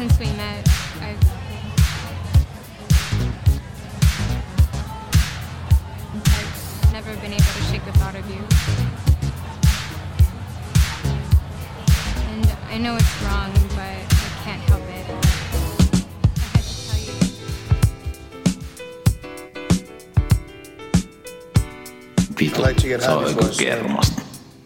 since we met, I've never been able to shake the thought of you. And I know it's wrong, but I can't help it. I had to tell you. Vitu, se on joku kermasta.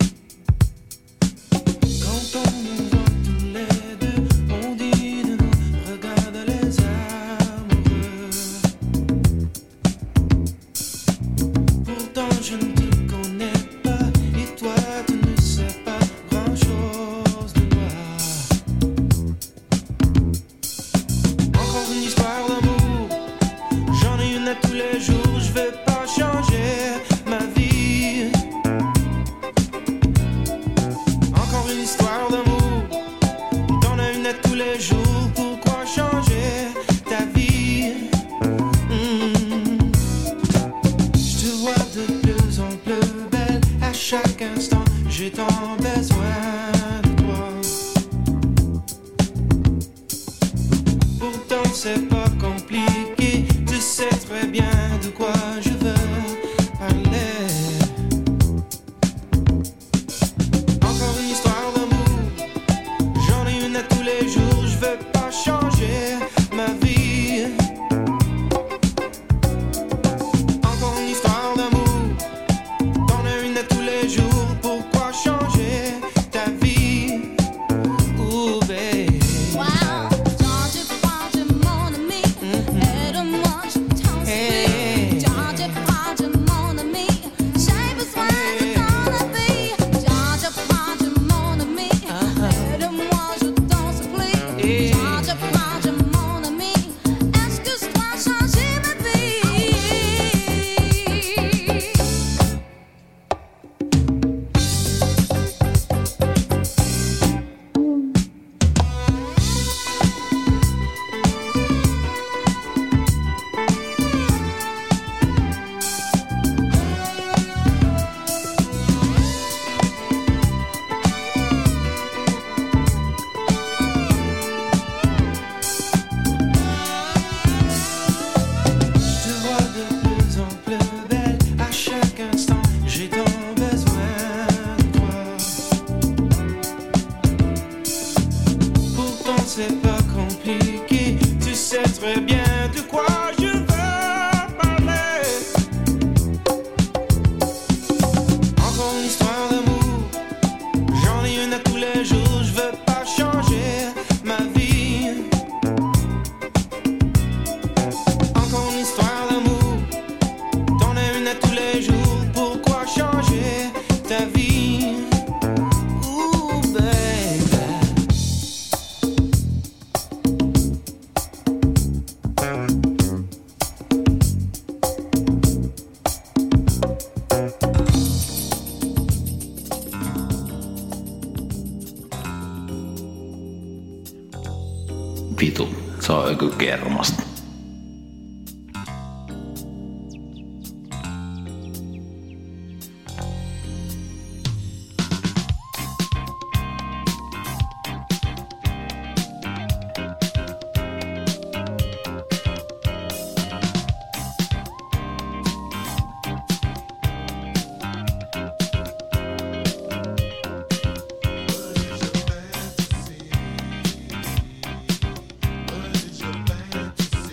Vitu, se on joku kermasta. Fantasy.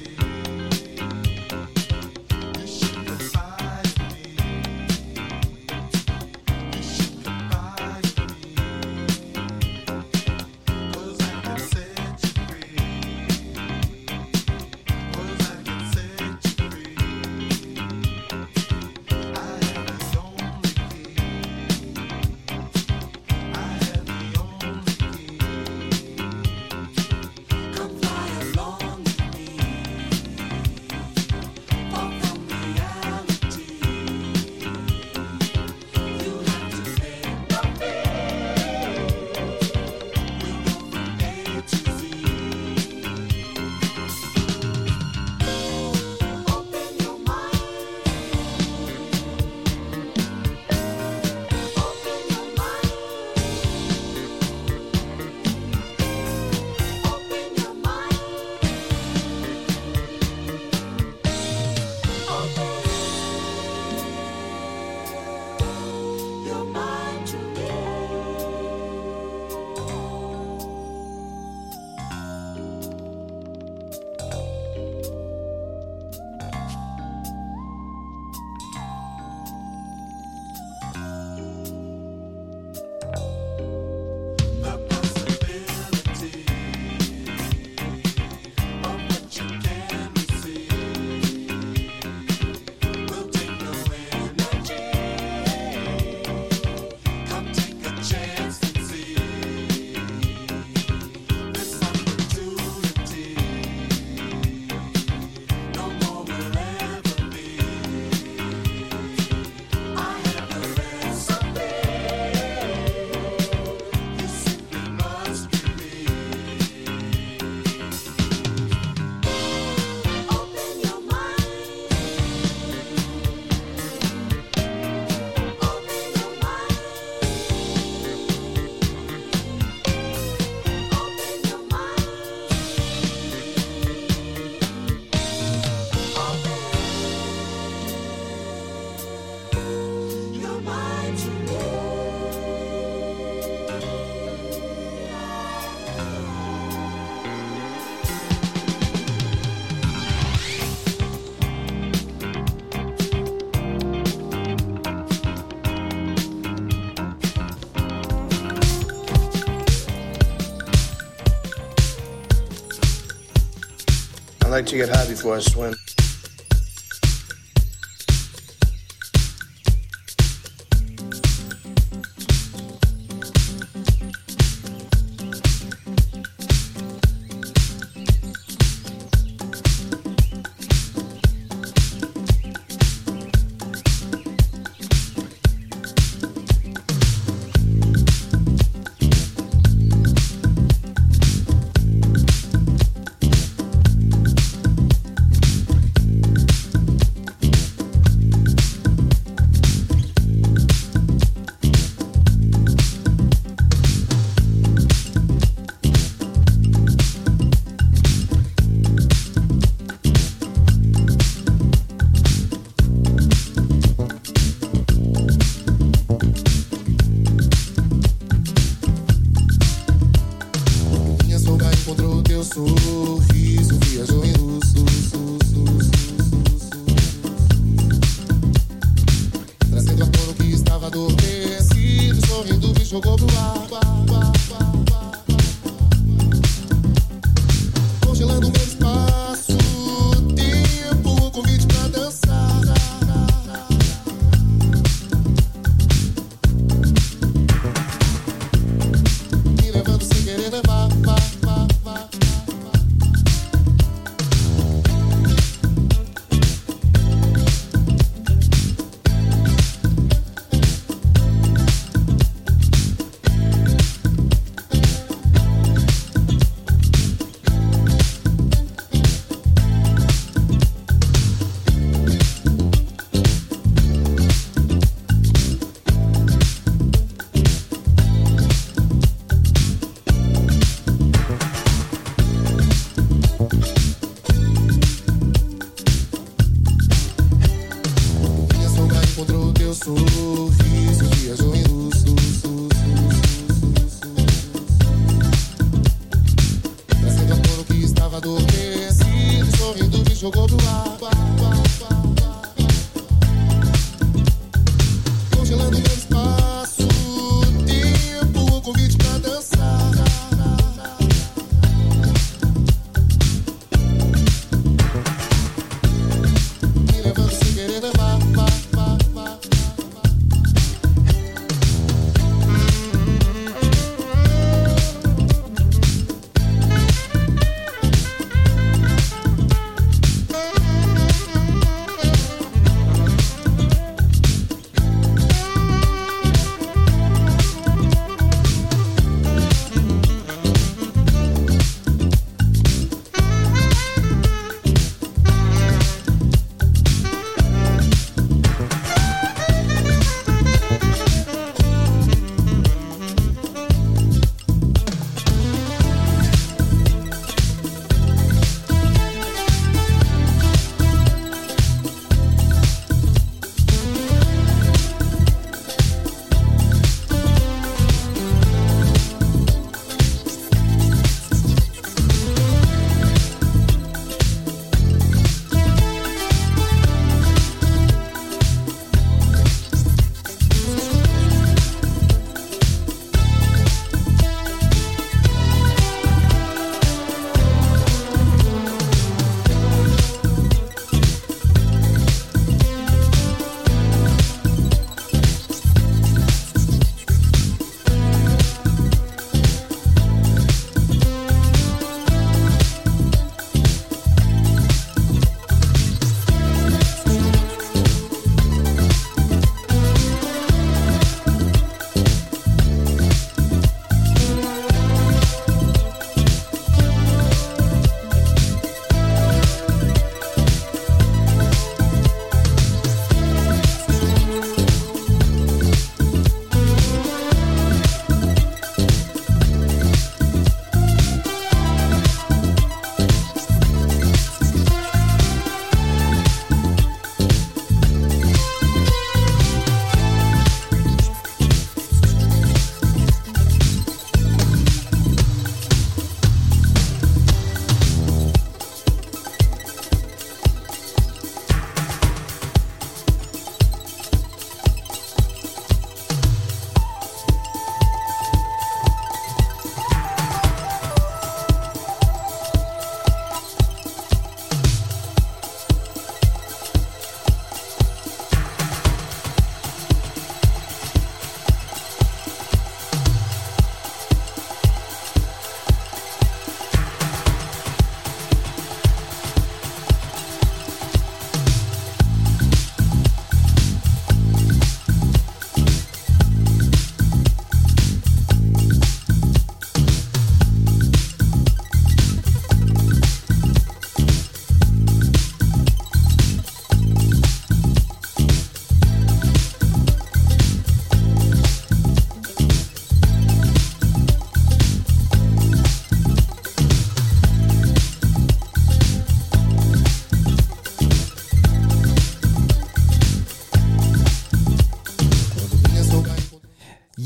like to get high before I swim.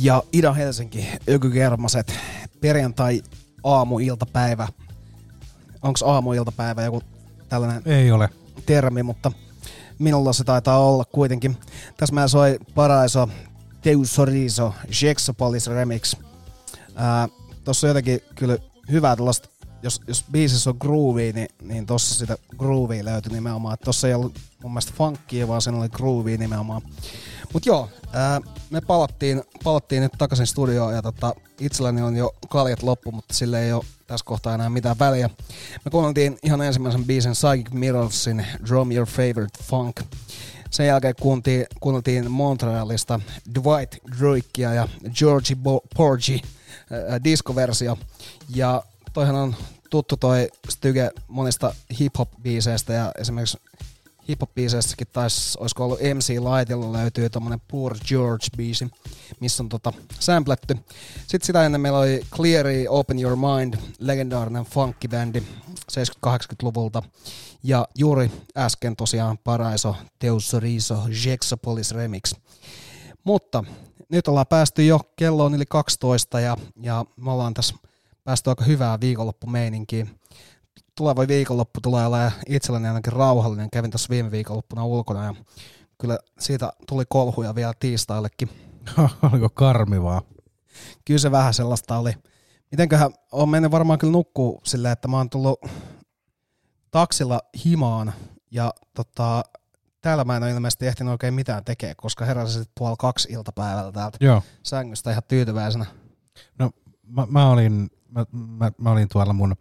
ja Ida Helsinki, Ökykermaset, perjantai aamuiltapäivä. Onks aamuiltapäivä joku tällainen Ei ole termi, mutta minulla se taitaa olla kuitenkin. Tässä meillä soi Paraiso, Teusoriso, Jexopolis Remix. Tossa on jotenkin kyllä hyvää tällaista, jos biisissä on groovia, niin tossa sitä groovia löytyi nimenomaan. Tossa ei ollut mun mielestä funkia, vaan siinä oli groovia nimenomaan. Mut joo, me palattiin nyt takaisin studioon ja itselläni on jo kaljat loppu, mutta sille ei ole tässä kohtaa enää mitään väliä. Me kuunneltiin ihan ensimmäisen biisin Psychic Mirrorsin Drum Your Favorite Funk. Sen jälkeen kuunneltiin Montrealista Dwight Droikia ja Georgie Porgy diskoversio. Ja toihan on tuttu toi styge monista hip-hop-biiseistä ja esimerkiksi hip-hop-biiseistäkin olisiko ollut MC Lightilla löytyy tommonen Poor George-biisi, missä on sampletty. Sitten sitä ennen meillä oli Cleary, Open Your Mind, legendaarinen funky-bändi 70-80-luvulta. Ja juuri äsken tosiaan Paraiso, Teusoriso, Jexopolis Remix. Mutta nyt ollaan päästy jo, kello on yli 12 ja me ollaan tässä päästy aika hyvää viikonloppumeininkiin. Tuleva viikonloppu tulee olemaan itselleni ainakin rauhallinen. Kävin tuossa viime viikonloppuna ulkona ja kyllä siitä tuli kolhuja vielä tiistaillekin. Oliko karmivaa? Kyllä se vähän sellaista oli. Mitenköhän, on mennyt varmaan kyllä nukkuu silleen, että mä oon tullut taksilla himaan ja täällä mä en ole ilmeisesti ehtinyt oikein mitään tekemään, koska heräsin 1:30 iltapäivällä täältä sängystä ihan tyytyväisenä. No mä olin tuolla mun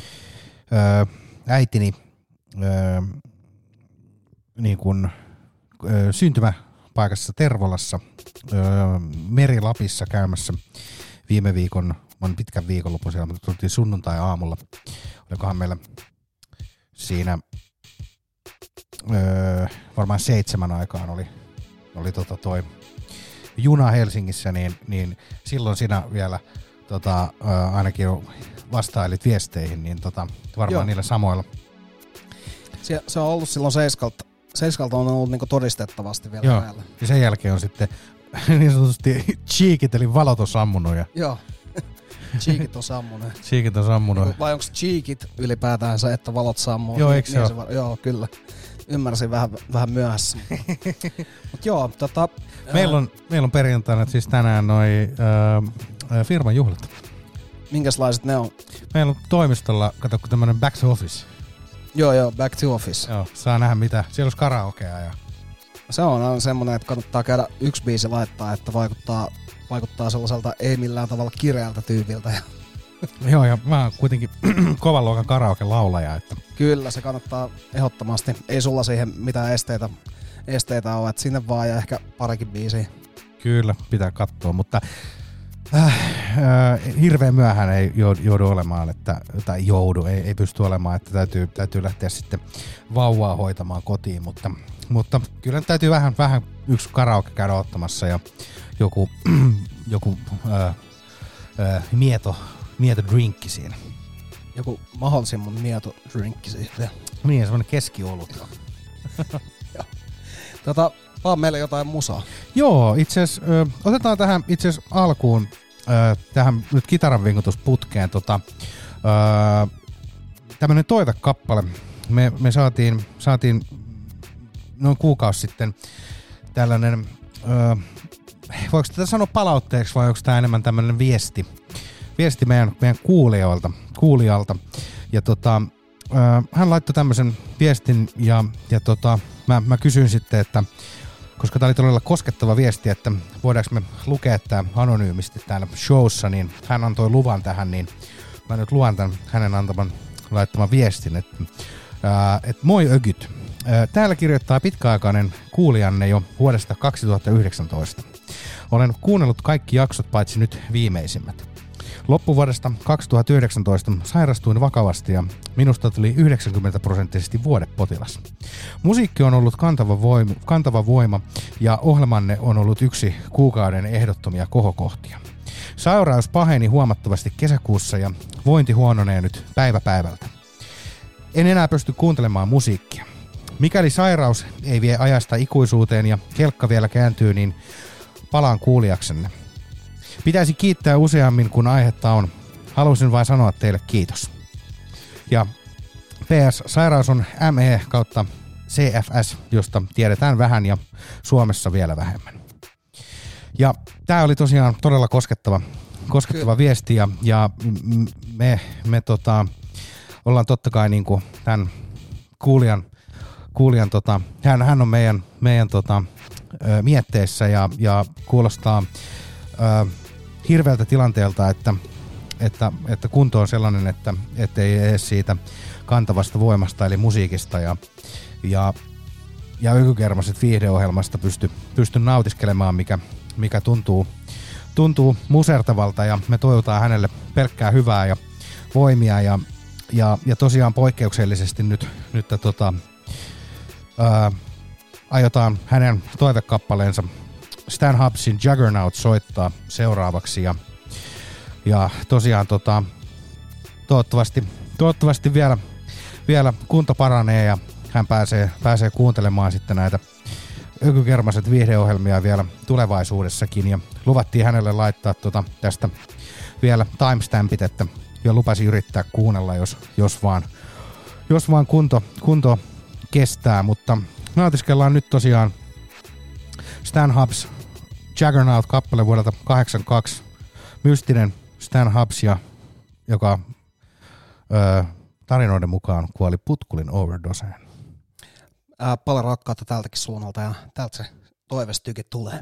äitini niin kuin syntymäpaikassa Tervolassa Meri-Lapissa käymässä viime viikon, on pitkän viikonlopun siellä, mutta tultiin sunnuntai-aamulla. Olikohan meillä siinä varmaan 7 aikaan oli toi juna Helsingissä, niin silloin sinä vielä ainakin vastailit viesteihin, niin varmaan niillä samoilla. Se on ollut silloin 7 on ollut niinku todistettavasti vielä Joo. päällä. Ja sen jälkeen on sitten niin sanotusti cheekit, eli valot on sammunut. Joo, cheekit on sammunut. Cheekit on sammunut. Vai onko cheekit ylipäätään se, että valot sammuu? Joo, eikö se ole? Joo, kyllä. Ymmärsin vähän myöhässä. Mut joo, meillä on perjantaina siis tänään noi firman juhlat. Minkäslaiset ne on? Meillä on toimistolla, kato, tämmönen back to office. Joo, back to office. Joo, saa nähdä mitä. Siellä olisi karaokea. Ja se on aina semmonen, että kannattaa käydä yksi biisi laittaa, että vaikuttaa sellaiselta ei millään tavalla kireältä tyypiltä. Joo, ja mä oon kuitenkin kovan luokan karaoke-laulaja. Että Kyllä, se kannattaa ehdottomasti. Ei sulla siihen mitään esteitä ole, että sinne vaan ja ehkä parikin biisiä. Kyllä, pitää katsoa, mutta hirveän myöhään ei joudu olemaan, ei pysty olemaan, että täytyy lähteä sitten vauvaa hoitamaan kotiin, mutta kyllä täytyy vähän yksi karaoke käydä ottamassa ja joku mieto drinkki siinä. Joku mahdollisimman mieto drinkki siinä. Niin, semmoinen keskiolut. Vaan meille jotain musaa. Joo, itse asiassa otetaan tähän itse asiassa alkuun tähän nyt kitaran vinkutusputkeen tämmönen toivekappale. Me saatiin noin kuukausi sitten tällainen, voiko tätä sanoa palautteeksi vai onko tämä enemmän tämmöinen viesti meidän kuulijalta. Ja hän laittoi tämmöisen viestin ja mä kysyin sitten, että koska tämä oli todella koskettava viesti, että voidaanko me lukea tämä anonyymisti täällä showssa, niin hän antoi luvan tähän, niin mä nyt luan tämän hänen laittaman viestin, että moi ögyt. Täällä kirjoittaa pitkäaikainen kuulijanne jo vuodesta 2019. Olen kuunnellut kaikki jaksot paitsi nyt viimeisimmät. Loppuvuodesta 2019 sairastuin vakavasti ja minusta tuli 90% vuodepotilas. Musiikki on ollut kantava voima ja ohjelmanne on ollut yksi kuukauden ehdottomia kohokohtia. Sairaus paheni huomattavasti kesäkuussa ja vointi huononee nyt päivä päivältä. En enää pysty kuuntelemaan musiikkia. Mikäli sairaus ei vie ajasta ikuisuuteen ja kelkka vielä kääntyy, niin palaan kuulijaksenne. Pitäisi kiittää useammin, kun aihetta on. Halusin vain sanoa teille kiitos. Ja PS, sairaus on ME kautta CFS, josta tiedetään vähän ja Suomessa vielä vähemmän. Ja tää oli tosiaan todella koskettava viesti ja me ollaan totta kai niinku tämän kuulijan hän on meidän mietteissä ja kuulostaa hirveältä tilanteelta, että kunto on sellainen, että ei edes siitä kantavasta voimasta eli musiikista ja Ökykermaset viihdeohjelmasta pysty nautiskelemaan, mikä tuntuu musertavalta, ja me toivotaan hänelle pelkkää hyvää ja voimia ja tosiaan poikkeuksellisesti nyt aiotaan hänen toivekappaleensa Stan Hubsin Juggernaut soittaa seuraavaksi ja tosiaan toivottavasti vielä kunto paranee ja hän pääsee kuuntelemaan sitten näitä Ökykermaset viihdeohjelmia vielä tulevaisuudessakin, ja luvattiin hänelle laittaa tästä vielä timestampit, että jo lupasi yrittää kuunnella, jos vaan kunto kestää, mutta nautiskellaan nyt tosiaan Stan Hubs Juggernaut-kappale vuodelta 1982, mystinen Stan Hubs, joka tarinoiden mukaan kuoli putkulin overdoseen. Paljon rakkautta tältäkin suunnalta ja täältä se toivestykin tulee.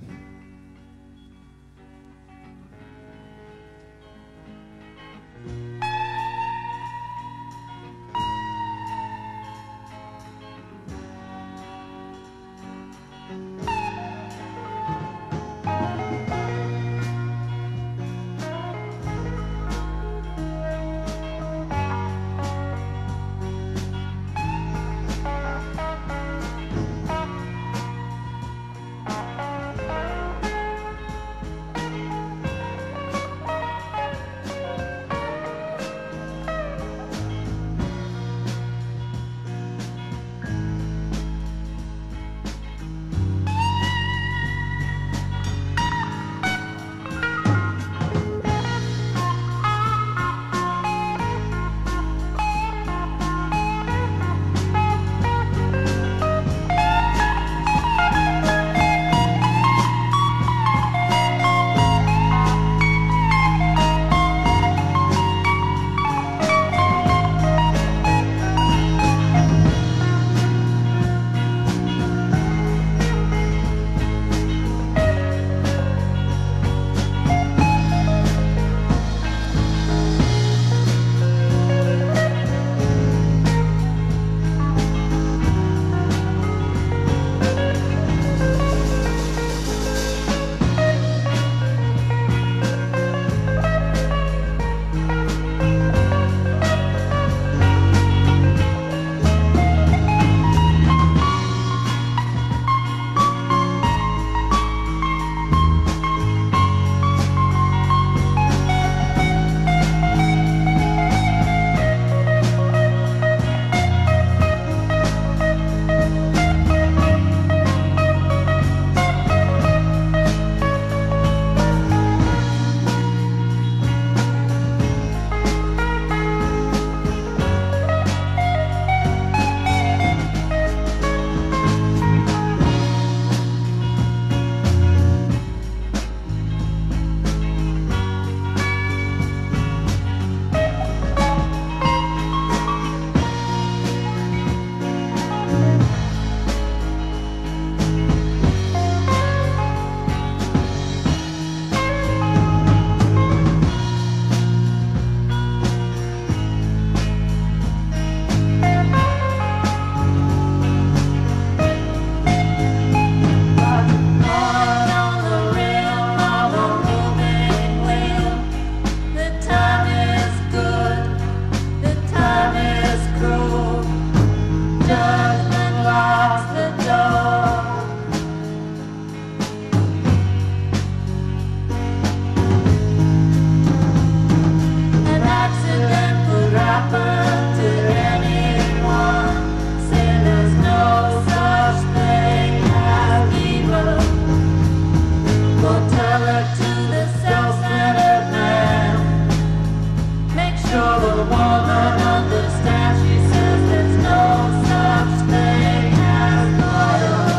woman understands. She says there's no such thing as loyal.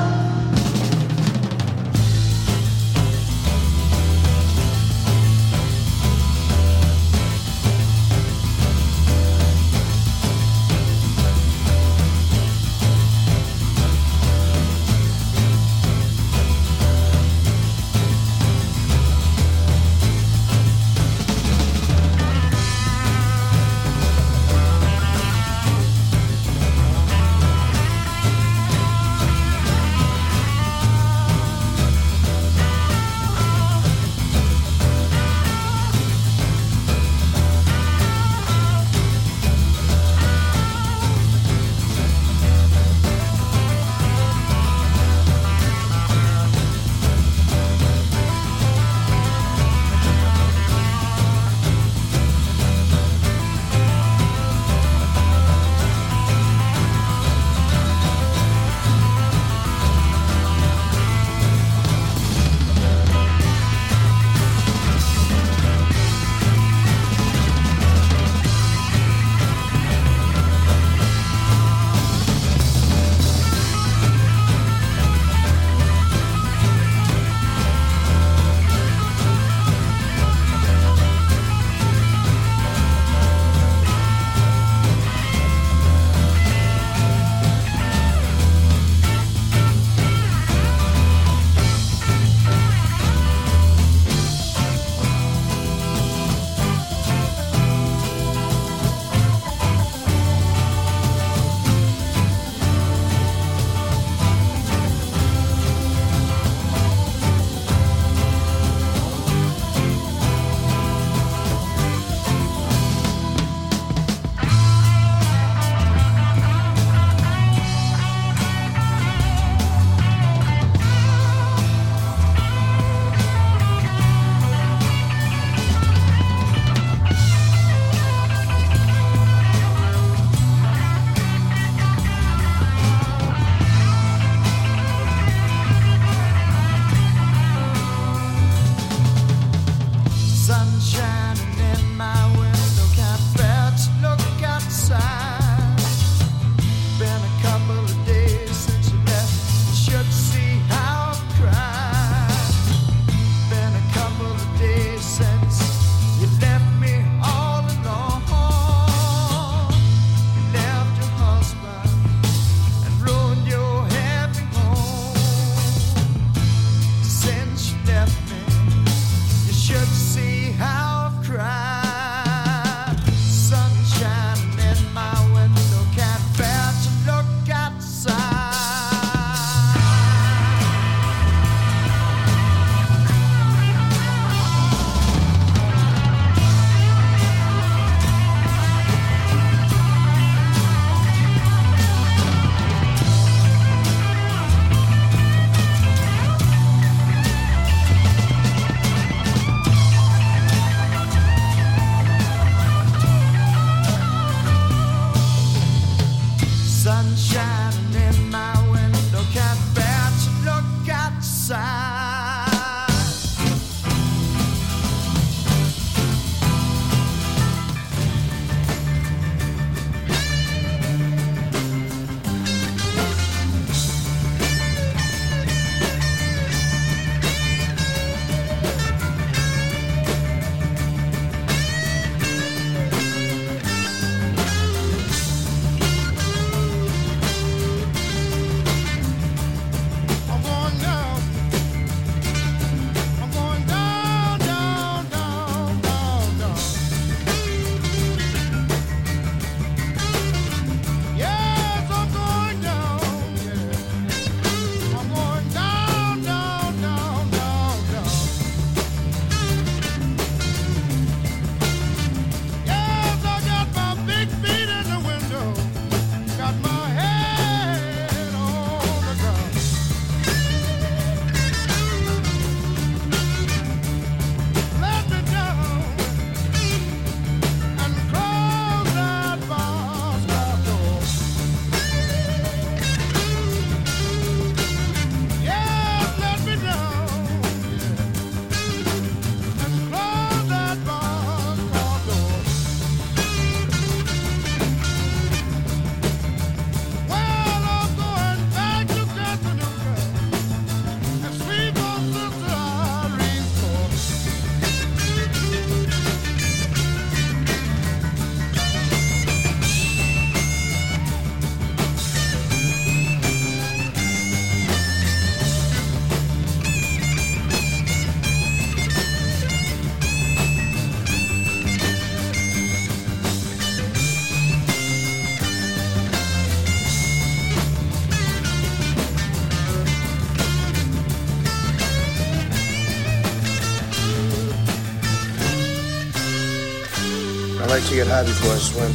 like to get high before I swim.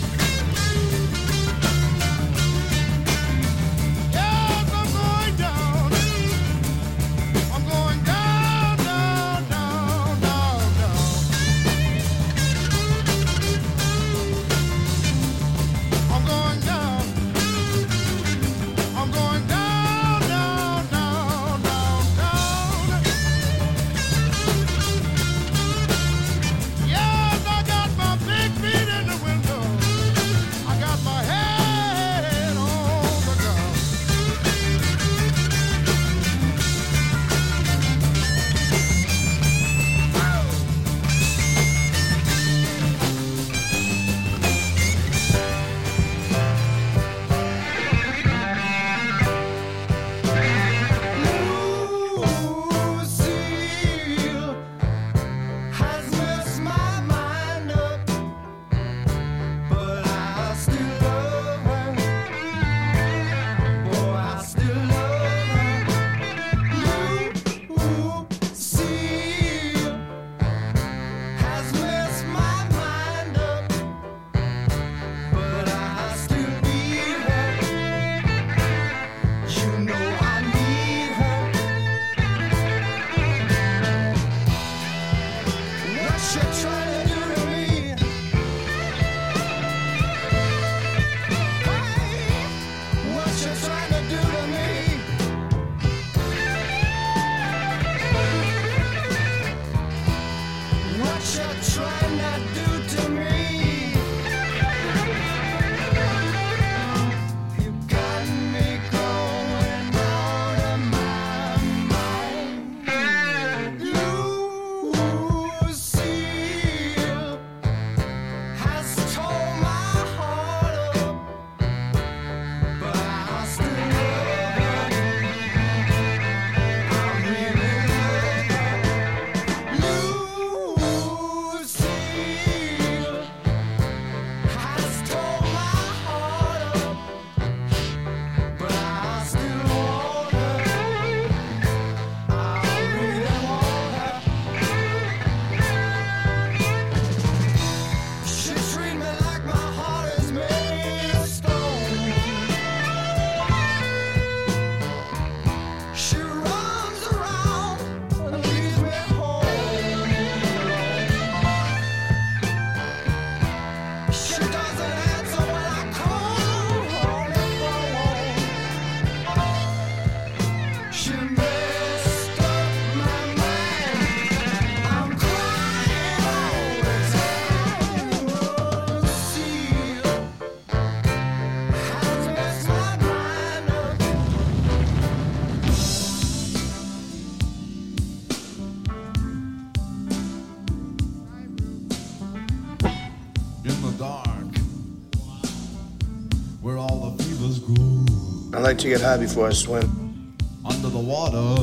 I like to get high before I swim. Under the water,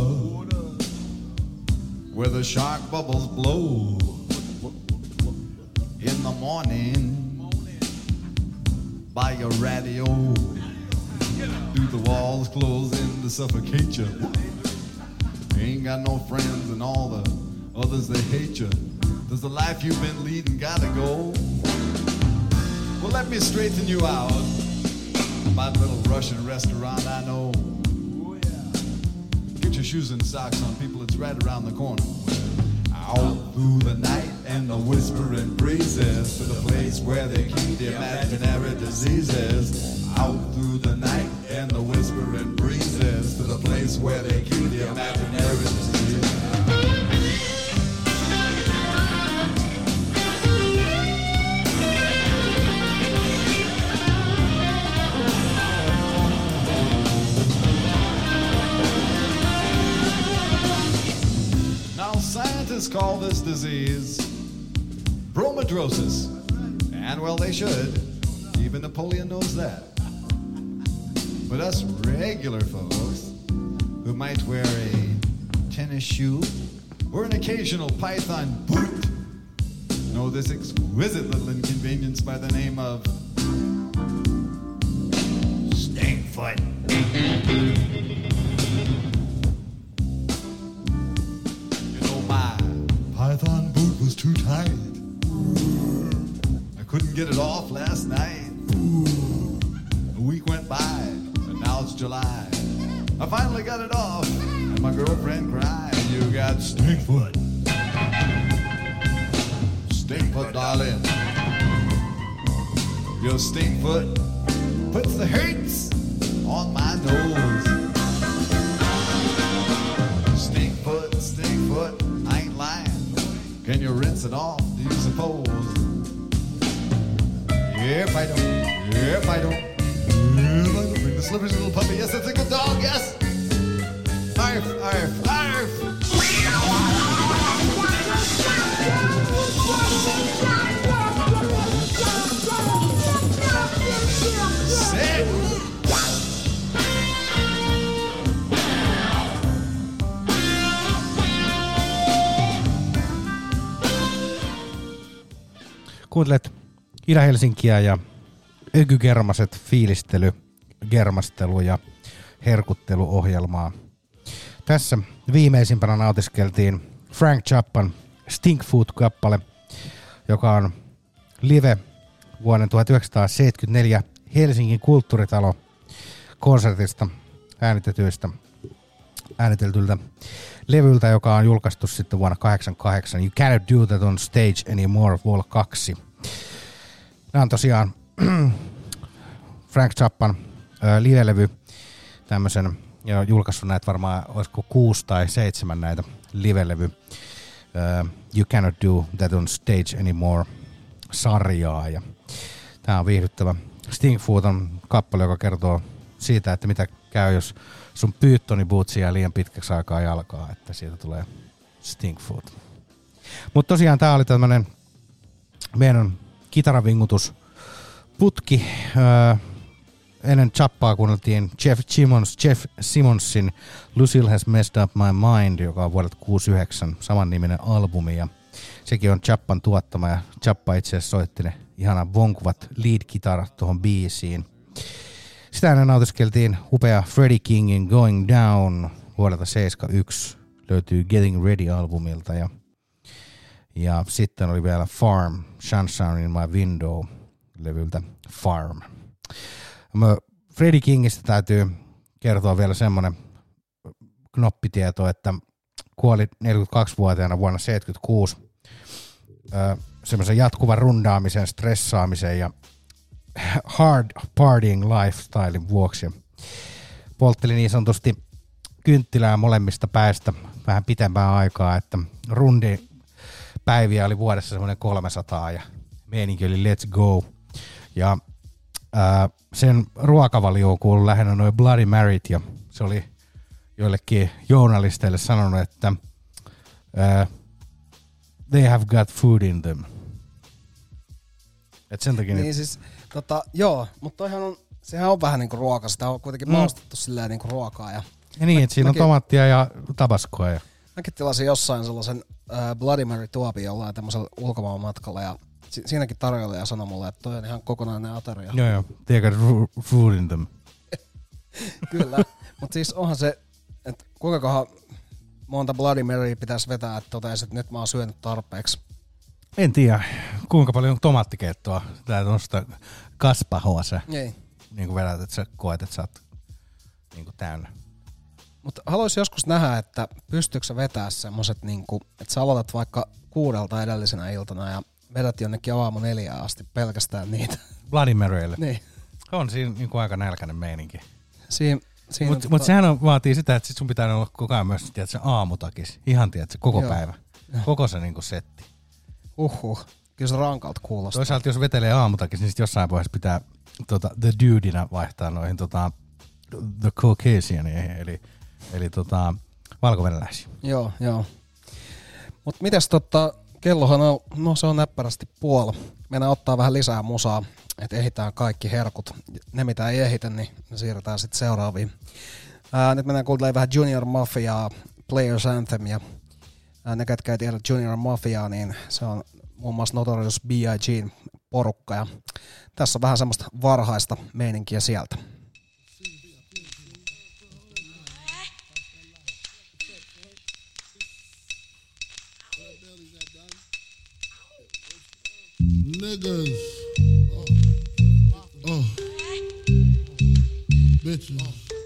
where the shark bubbles blow. In the morning, by your radio, do the walls close in to suffocate you? Ain't got no friends and all the others they hate you. Does the life you've been leading gotta go? Well, let me straighten you out. My little Russian restaurant I know. Get your shoes and socks on, people, it's right around the corner. Out through the night and the whispering breezes, to the place where they keep the imaginary diseases. Out through the night and the whispering breezes, to the place where they keep the imaginary diseases. Scientists call this disease bromidrosis, and well, they should. Even Napoleon knows that. But us regular folks who might wear a tennis shoe or an occasional python boot know this exquisite little inconvenience by the name of Stinkfoot. My python boot was too tight. I couldn't get it off last night. A week went by, and now it's July. I finally got it off, and my girlfriend cried, you got stink foot. Stink foot, darling. Your stink foot puts the hurts on my nose. Stink foot, I ain't lying. Can you rinse it off, do you suppose? Yep, I don't. Yep, I don't. Yep, I don't. Bring the slippery little puppy. Yes, that's a good dog, yes. Arf, arf, arf. Sit. Kuuntelet Ida-Helsinkiä ja Ökygermaset fiilistely, germastelu ja herkutteluohjelmaa. Tässä viimeisimpänä nautiskeltiin Frank Zappan Stink Foot-kappale, joka on live vuoden 1974 Helsingin kulttuuritalo konsertista ääniteltyltä levyltä, joka on julkaistu sitten vuonna 1988. You Cannot Do That on Stage Anymore, Vol. 2. Nämä on tosiaan Frank Zappan live-levy, tämmöisen, ja julkaissut näitä varmaan, olisiko 6 tai 7 näitä live-levy You Cannot Do That on Stage Anymore -sarjaa, ja tää on viihdyttävä. Stink Foot on kappale, joka kertoo siitä, että mitä käy, jos sun Pythoni-bootsi jää liian pitkäksi aikaa jalkaa, että siitä tulee Stink Foot. Mutta tosiaan tää oli tämmönen meidän kitaravingutusputki. Ennen Zappaa kuunneltiin Jeff Simonsin Lucille Has Messed Up My Mind, joka on vuodelta 1969 samanniminen albumi, ja sekin on Zappan tuottama, ja Zappa itse asiassa soitti ne ihanan vonkuvat lead-kitarat tuohon biisiin. Sitä ennen nautiskeltiin upea Freddie Kingin Going Down vuodelta 1971, löytyy Getting Ready-albumilta, ja sitten oli vielä Farm, Sunshine in My Window -levyltä Farm. Freddie Kingistä täytyy kertoa vielä semmoinen knoppitieto, että kuoli 42-vuotiaana vuonna 1976 semmoisen jatkuvan rundaamisen, stressaamisen ja hard partying lifestylein vuoksi. Poltteli niin sanotusti kynttilää molemmista päistä vähän pitempää aikaa, että rundipäiviä oli vuodessa semmoinen 300 ja meininki oli let's go. Ja sen ruokavalioon kuului lähinnä noin Bloody Maryt, ja se oli joillekin journalisteille sanonut, että they have got food in them. Et sen takia niin siis, joo, mutta toihan on, sehän on vähän niinku ruoka, sitä on kuitenkin maustettu silleen niinku ruokaa. Ja niin, että siinä on tomaattia ja tabaskoa. Ja mäkin tilasin jossain sellaisen Bloody Mary -tuopin jollain tämmöisellä ulkomaan matkalla, ja siinäkin tarjoilija sanoi mulle, että toi on ihan kokonainen ateria. Joo, they got food in them. Kyllä, mutta siis onhan se, että kuinkakohan monta Bloody Marya pitäisi vetää, että toteisi, että nyt mä oon syönyt tarpeeksi. En tiedä, kuinka paljon tomaattikeittoa tää tuosta kaspahoa sä niin vedät, että sä koet, että sä oot niin täynnä. Mutta haluaisin joskus nähdä, että pystyykö sä vetää semmoset, niinku, että sä aloitat vaikka 6 edellisenä iltana ja vedät jonnekin aamu 4 asti pelkästään niitä. Bloody Marylle. Niin. On siinä niin aika nälkäinen meininki. Mutta sehän vaatii sitä, että sit sun pitää olla koko ajan myös tiedätkö, aamutakis. Ihan tiedätkö, koko päivä. Koko se niin setti. Kyllä se rankalta kuulostaa. Toisaalta jos vetelee aamutakis, niin sit jossain vaiheessa pitää the dudina vaihtaa noihin the Caucasianiin, eli valkovenäläisiin. Joo. Mut mites kellohan on, no se on näppärästi puoli. Mennään ottaa vähän lisää musaa, että ehditään kaikki herkut. Ne mitä ei ehitä, niin ne siirretään sitten seuraaviin. Nyt mennään kuuntelemaan vähän Junior Mafiaa, Players Anthem, ja ne ketkä ei tiedä Junior Mafiaa, niin se on muun muassa Notorious B.I.G:n porukka, ja tässä on vähän semmoista varhaista meininkiä sieltä. Niggas. bitches.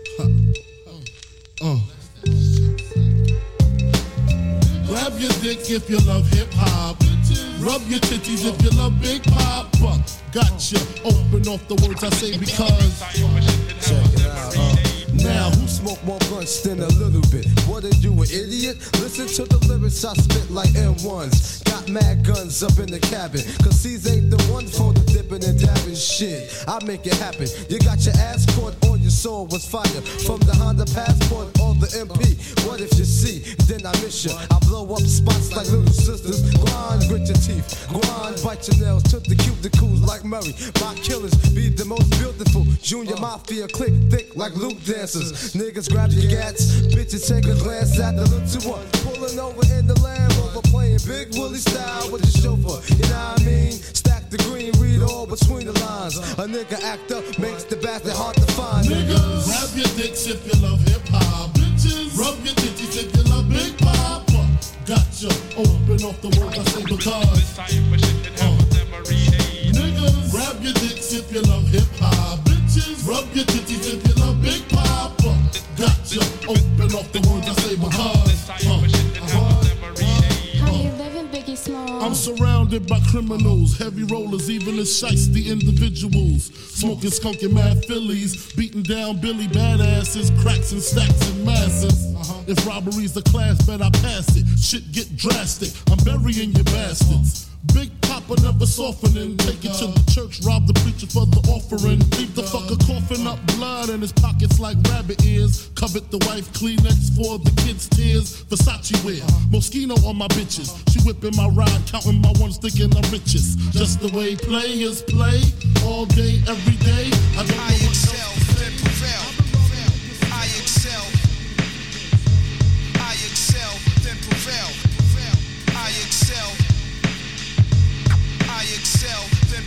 Grab your dick if you love hip hop. Rub your titties if you love Big Papa. Gotcha. Open off the words I say because. Check it out. Now, who smoke more blunts than a little bit? What are you, an idiot? Listen to the lyrics I spit like M1s. Got mad guns up in the cabin. Cause these ain't the ones for the dipping and dabbing shit. I make it happen. You got your ass caught on your soul was fire. From the Honda Passport or the MP. What if you see? Then I miss you. I blow up spots like little sisters. Grind, grit your teeth. Grind, bite your nails. Took the cuticles like Murray. My killers be the most beautiful. Junior Mafia click thick like Luke dancers. Niggas grab your gats. Bitches take a glance at the little one. Pulling over in the Land Rover. Playing Big Willie style with the chauffeur. You know what I mean? Stack the green, read all between the lines. A nigga act up makes the bastard hard to find. Niggas, grab your dicks if you love hip hop. Bitches, rub your titties if you love Big Papa. Gotcha. Open off the words I say because. Niggas, grab your dicks if you love hip hop. Bitches, rub your titties if you love Big Papa. Gotcha. Open off the words I say because. I'm surrounded by criminals, heavy rollers, even the shiesty individuals. Smoking skunky mad Phillies, beating down Billy badasses, cracks and stacks and masses. If robbery's the class, bet I pass it. Shit get drastic, I'm burying your bastards. Big Papa never softening. Take it to the church, rob the preacher for the offering. Leave the fucker coughing up blood in his pockets like rabbit ears. Covet the wife, Kleenex for the kids' tears. Versace wear, Moschino on my bitches. She whipping my ride, counting my ones, thinking I'm richest. Just the way players play, all day, every day. I don't know what excel, then prevail. I excel. I excel, then prevail. I excel. I excel, then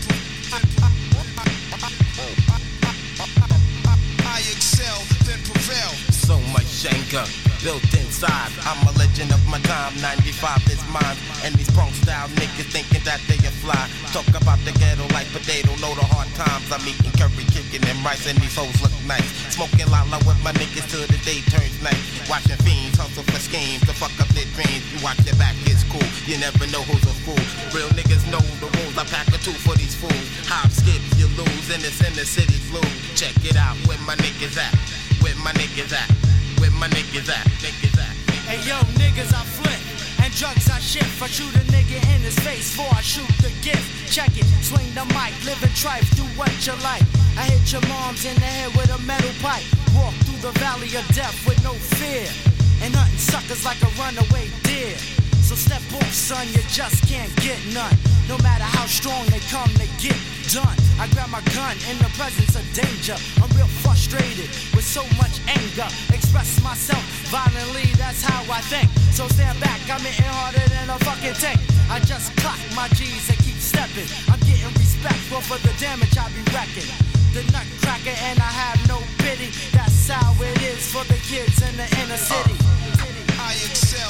I excel, then prevail. So much anger built inside. I'm a legend of my time. 95 is mine. And these punk style niggas thinking that they are fly. Talk about the ghetto like potato. Know the hard times. I'm eating curry, chicken, and rice. And these hoes look nice. Smoking lala with my niggas till the day turns night. Watching fiends hustle for schemes to fuck up their dreams. You watch your back, it's cool. You never know who's a fool. Real niggas know the rules. I pack a two for these fools. Hop, skip, you lose. And it's in the city flu. Check it out. Where my niggas at? Where my niggas at? Where my niggas at? Niggas at? Hey yo, niggas, I flip. And drugs I shift. I shoot a nigga in his face before I shoot the gift. Check it, swing the mic, live and trife, do what you like. I hit your moms in the head with a metal pipe. Walk through the valley of death with no fear. And hunting suckers like a runaway deer. So step off, son, you just can't get none. No matter how strong they come, they get done. I grab my gun in the presence of danger. I'm real frustrated with so much anger. Express myself violently, that's how I think. So stand back, I'm hitting harder than a fucking tank. I just clock my G's and keep stepping. I'm getting respect for the damage I be wrecking. The nutcracker and I have no pity. That's how it is for the kids in the inner city. I excel.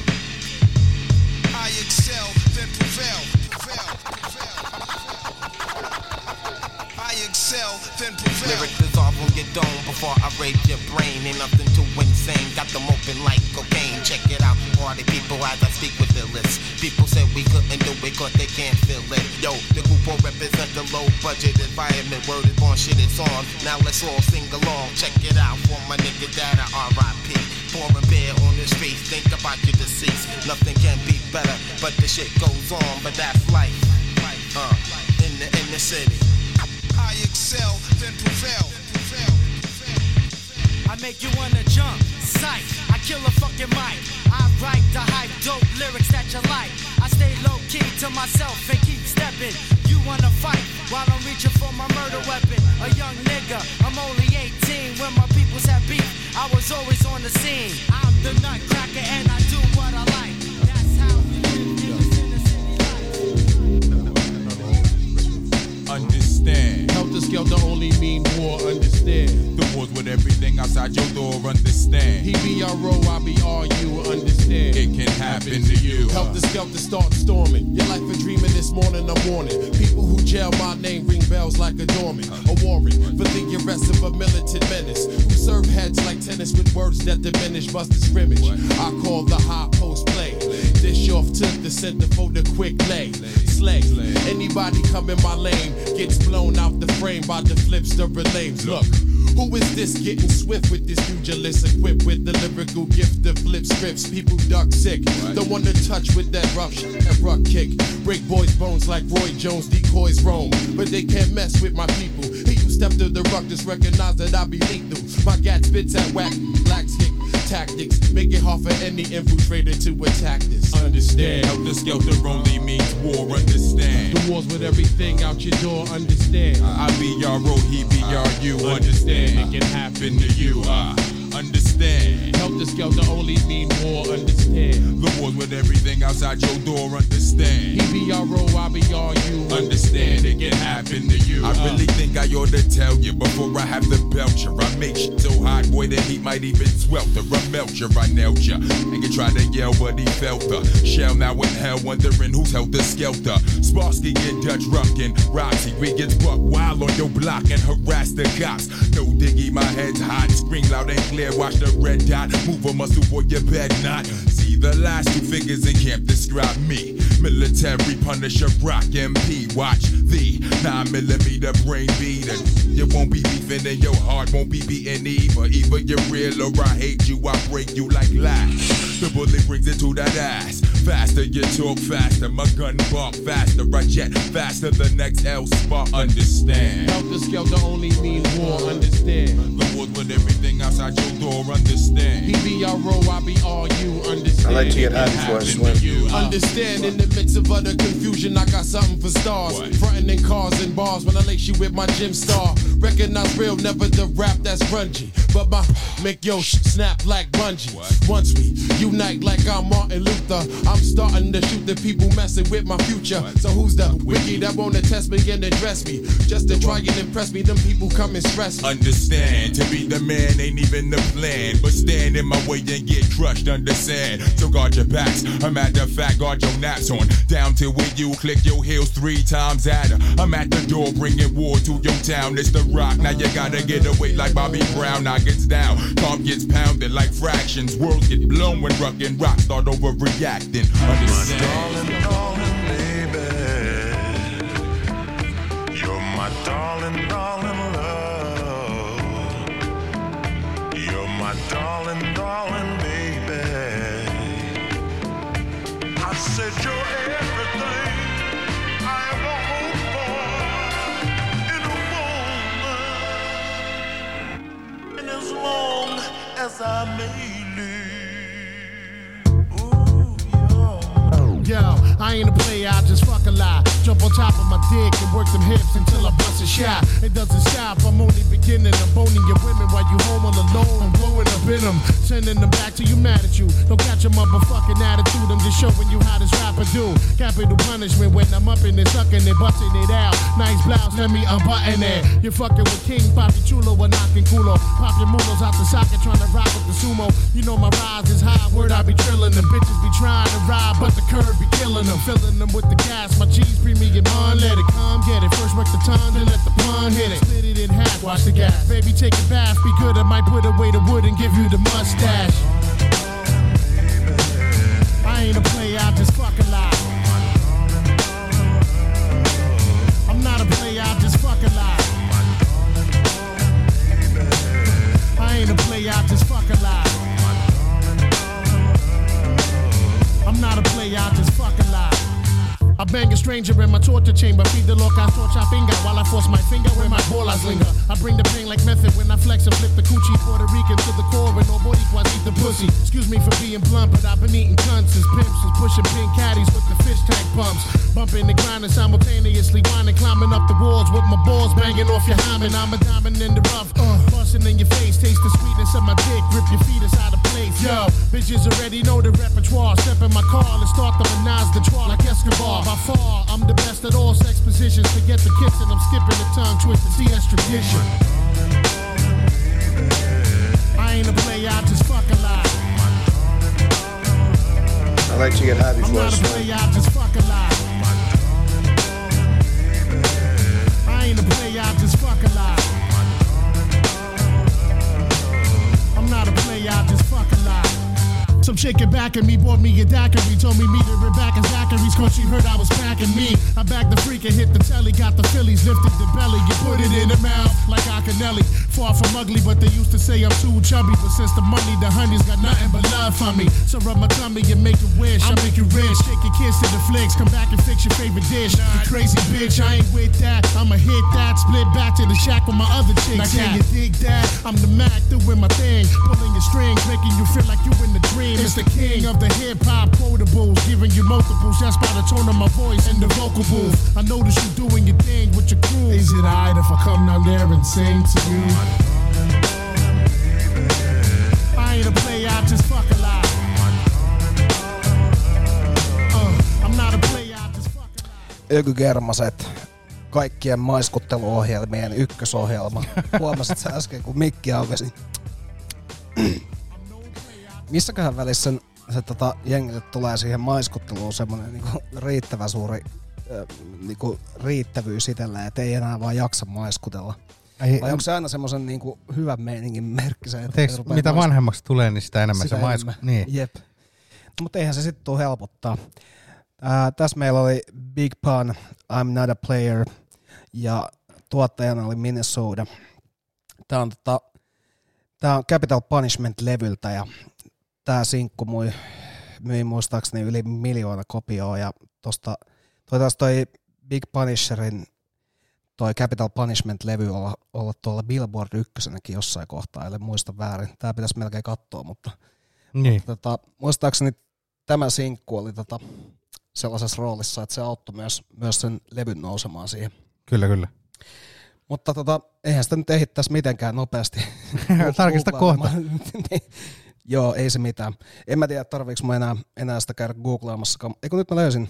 I excel, then prevail. I excel, then prevail. Lyrics dissolve on your dome before I raid your brain. Ain't nothing too insane, got them open like cocaine. Check it out, party people as I speak with the list. People said we couldn't do it cause they can't feel it. Yo, the group will represent the low budget environment. Word is born, shit is on. Now let's all sing along. Check it out for my nigga Dada, R.I.P. Pouring beer on the streets, think about your deceased. Nothing can be better, but the shit goes on. But that's life, in the city. I excel, then prevail. I make you wanna jump, sight. I kill a fucking mic. I write the hype, dope lyrics that you like. I stay low key to myself and keep stepping. You wanna fight while I'm reaching for my murder weapon. A young nigga, I'm only 18 when my peoples have beef. I was always on the scene. I'm the nutcracker and I do what I like. That's how we live in the city life. Understand. Help us skelter only mean war, understand. The wars with everything outside your door, understand. He be RO, I be RU, understand. It can happen to you. Help the skelter start storming. Your life a dreaming this morning, I'm warning. People who jail my name ring bells like a doorman. A warrant for the arrest of a militant menace who serve heads like tennis with words that diminish bust the scrimmage. I call the high post play. Dish off to the center for the quick lay. Slay. Anybody come in my lane gets blown out the frame by the flipster relays. Look. Who is this getting swift with this pugilist equipped with the lyrical gift to flip scripts? People duck sick, don't want to touch with that rough kick. Break boys' bones like Roy Jones, decoys roam, but they can't mess with my people. He who step to the ruckus recognize that I be lethal. My gat spits at whack, blacks kick tactics, make it hard for any infiltrator to attack this. Understand? Helter skelter only means war, understand. The wars with everything out your door, understand. I be RO, he be RU, understand. It can happen to you, understand. Helter skelter only mean war, understand. The wars with everything outside your door, understand. He be RO, I be RU, understand. It can happen to you. I really think I ought to tell you before I have to belch you. I make shit so hot, boy, the heat might even swelter. I melt you, I nailed you. And you tried to yell, but he felt the shell now in hell, wondering who's helter skelter. Sparsky and Dutch Ruckin', Roxy, we get buck wild on your block and harass the cops. No diggy, my head's hot, scream loud and clear, watch the red dot, move a muscle, boy, you bet not. See the last two figures in camp describe me. Military Punisher, Rock MP, watch the 9mm brain beater. You won't be beefing and your heart won't be beating either. Either you're real or I hate you, I break you like glass. The bullet brings it to that ass. Faster you talk faster, my gun bark faster. I jet faster, the next L spot, understand. Helter skelter only mean war, understand. The wars with everything outside your door, understand. He be RO, I be RU, understand. I like to get high before I swim. Understand, in the midst of utter confusion, I got something for stars. Frontin' in cars and bars when I lace you with my gym star. Recognize real, never the rap that's grungy. But my make your snap like bungee. Once we unite like I'm Martin Luther, I'm starting to shoot the people messing with my future. So who's the wiki that wanna test me and address me? Just to try and impress me, them people come and stress me. Understand, to be the man ain't even the plan, but stand in my way and get crushed, understand. So guard your backs, a matter of fact, guard your naps on. Down till when you click your heels 3 times at her. I'm at the door bringing war to your town. It's the rock, now you gotta get away like Bobby Brown. Now gets down, calm gets pounded like fractions. Worlds get blown when Ruck and Rock start overreacting. Understand? My darling, baby. You're my darling, darling love. You're my darling, darling baby. I said you're everything I ever hoped for in a woman. And as long as I may live. Yo, I ain't a player, I just fuck a lie. Jump on top of my dick and work them hips until I bust a shot. It doesn't stop, I'm only beginning. I'm boning your women while you home all alone. I'm blowing up in them, sending them back to you mad at you. Don't catch a motherfucking attitude, I'm just showing you how this rapper do. Capital punishment when I'm up in it, sucking it, busting it out. Nice blouse, let me unbutton it. You're fucking with King Papi Chulo or knocking culo. Pop your mulos out the socket, trying to rock with the sumo. You know my rise is high, word I be trillin'. The bitches be trying to ride, but the curve be killing them. Filling them with the gas, my G's premium on. Let it come, get it. First work the tongue, then let the pun hit it. Split it in half, watch the gas. Baby, take a bath, be good. I might put away the wood and give you the mustache. I ain't a player, I just fucking lie. I'm not a player, I just fucking lie. I ain't a player, I just fucking lie. I'm not a player, I just fucking lie. I bang a stranger in my torture chamber. Feed the loca, torcha finger while I force my finger where my bolas linger. I bring the pain like method when I flex and flip the coochie. Puerto Rican to the core and nobody quite eat the pussy. Excuse me for being blunt, but I've been eating cunts as pimps was pushing pink caddies with the fish tank pumps. Bumping and grinding simultaneously, whining, climbing up the walls with my balls banging off your hymen. I'm a diamond in the rough, busting in your face. Taste the sweetness of my dick, rip your feet inside the place. Yo, bitches already know the repertoire. Step in my car and start the menage the trois like Escobar. By far, I'm the best at all sex positions. Forget the kissing, I'm skipping the tongue twisting. See, that's tradition. I ain't a player, I just fuck a lot. I like to get high I'm before I not a swim. player, I just fuck a lot. I ain't a player, I just fuck a lot. I'm not a player, I just fuck a lot. Some chick in back of me bought me a daiquiri. Told me meet her back at Zachary's cause she heard I was packing me. I backed the freak and hit the telly. Got the Phillies, lifted the belly. You put it in the mouth like Akinelli. Far from ugly, but they used to say I'm too chubby. But since the money, the honey's got nothing but love for me. So rub my tummy and make it wish. I make you rich. Shake your kiss to the flicks. Come back and fix your favorite dish. You crazy bitch, I ain't with that. I'ma hit that. Split back to the shack with my other chicks. Now can you dig that? I'm the Mac doing my thing. Pulling your strings, making you feel like you in the dream. It's the king of the hip-hop quotables. Giving you multiples. That's by the tone of my voice and the vocal booth. I notice you doing your thing with your crew. Is it alright if I come down there and sing to you? I ain't a player, I just fuck a lot. I'm not a player, I just fuck a lot. Ökygermaset, kaikkien maiskutteluohjelmien ykkösohjelma. Huomasit sä äsken, kun mikki aukesi. Missäköhän välissä se jengille tulee siihen maiskutteluun semmonen niinku riittävän suuri niinku riittävyys itselleen, et ei enää vaan jaksa maiskutella? Vai onko se aina semmoisen niinku hyvän meiningin merkki se, että mitä vanhemmaksi tulee, niin sitä enemmän sitä se maiskuttaa. Niin. Jep. Mutta eihän se sitten tule helpottaa. Tässä meillä oli Big Pun, I'm Not a Player, ja tuottajana oli Minnesota. Tää on Capital Punishment-levyltä, ja tää sinkku myi muistaakseni yli 1 miljoona kopioa, ja toi Big Punisherin toi Capital Punishment-levy olla tuolla Billboard 1:näkin jossain kohtaa, ellei muista väärin. Tää pitäisi melkein katsoa, mutta muistaakseni tämä sinkku oli sellaisessa roolissa, että se auttoi myös sen levyn nousemaan siihen. Kyllä. Mutta eihän sitä nyt ehdittäisi mitenkään nopeasti. Tarkista kohta. Joo, ei se mitään. En mä tiedä, tarviiko mä enää sitä käydä googlaamassakaan. Eikö nyt mä löysin.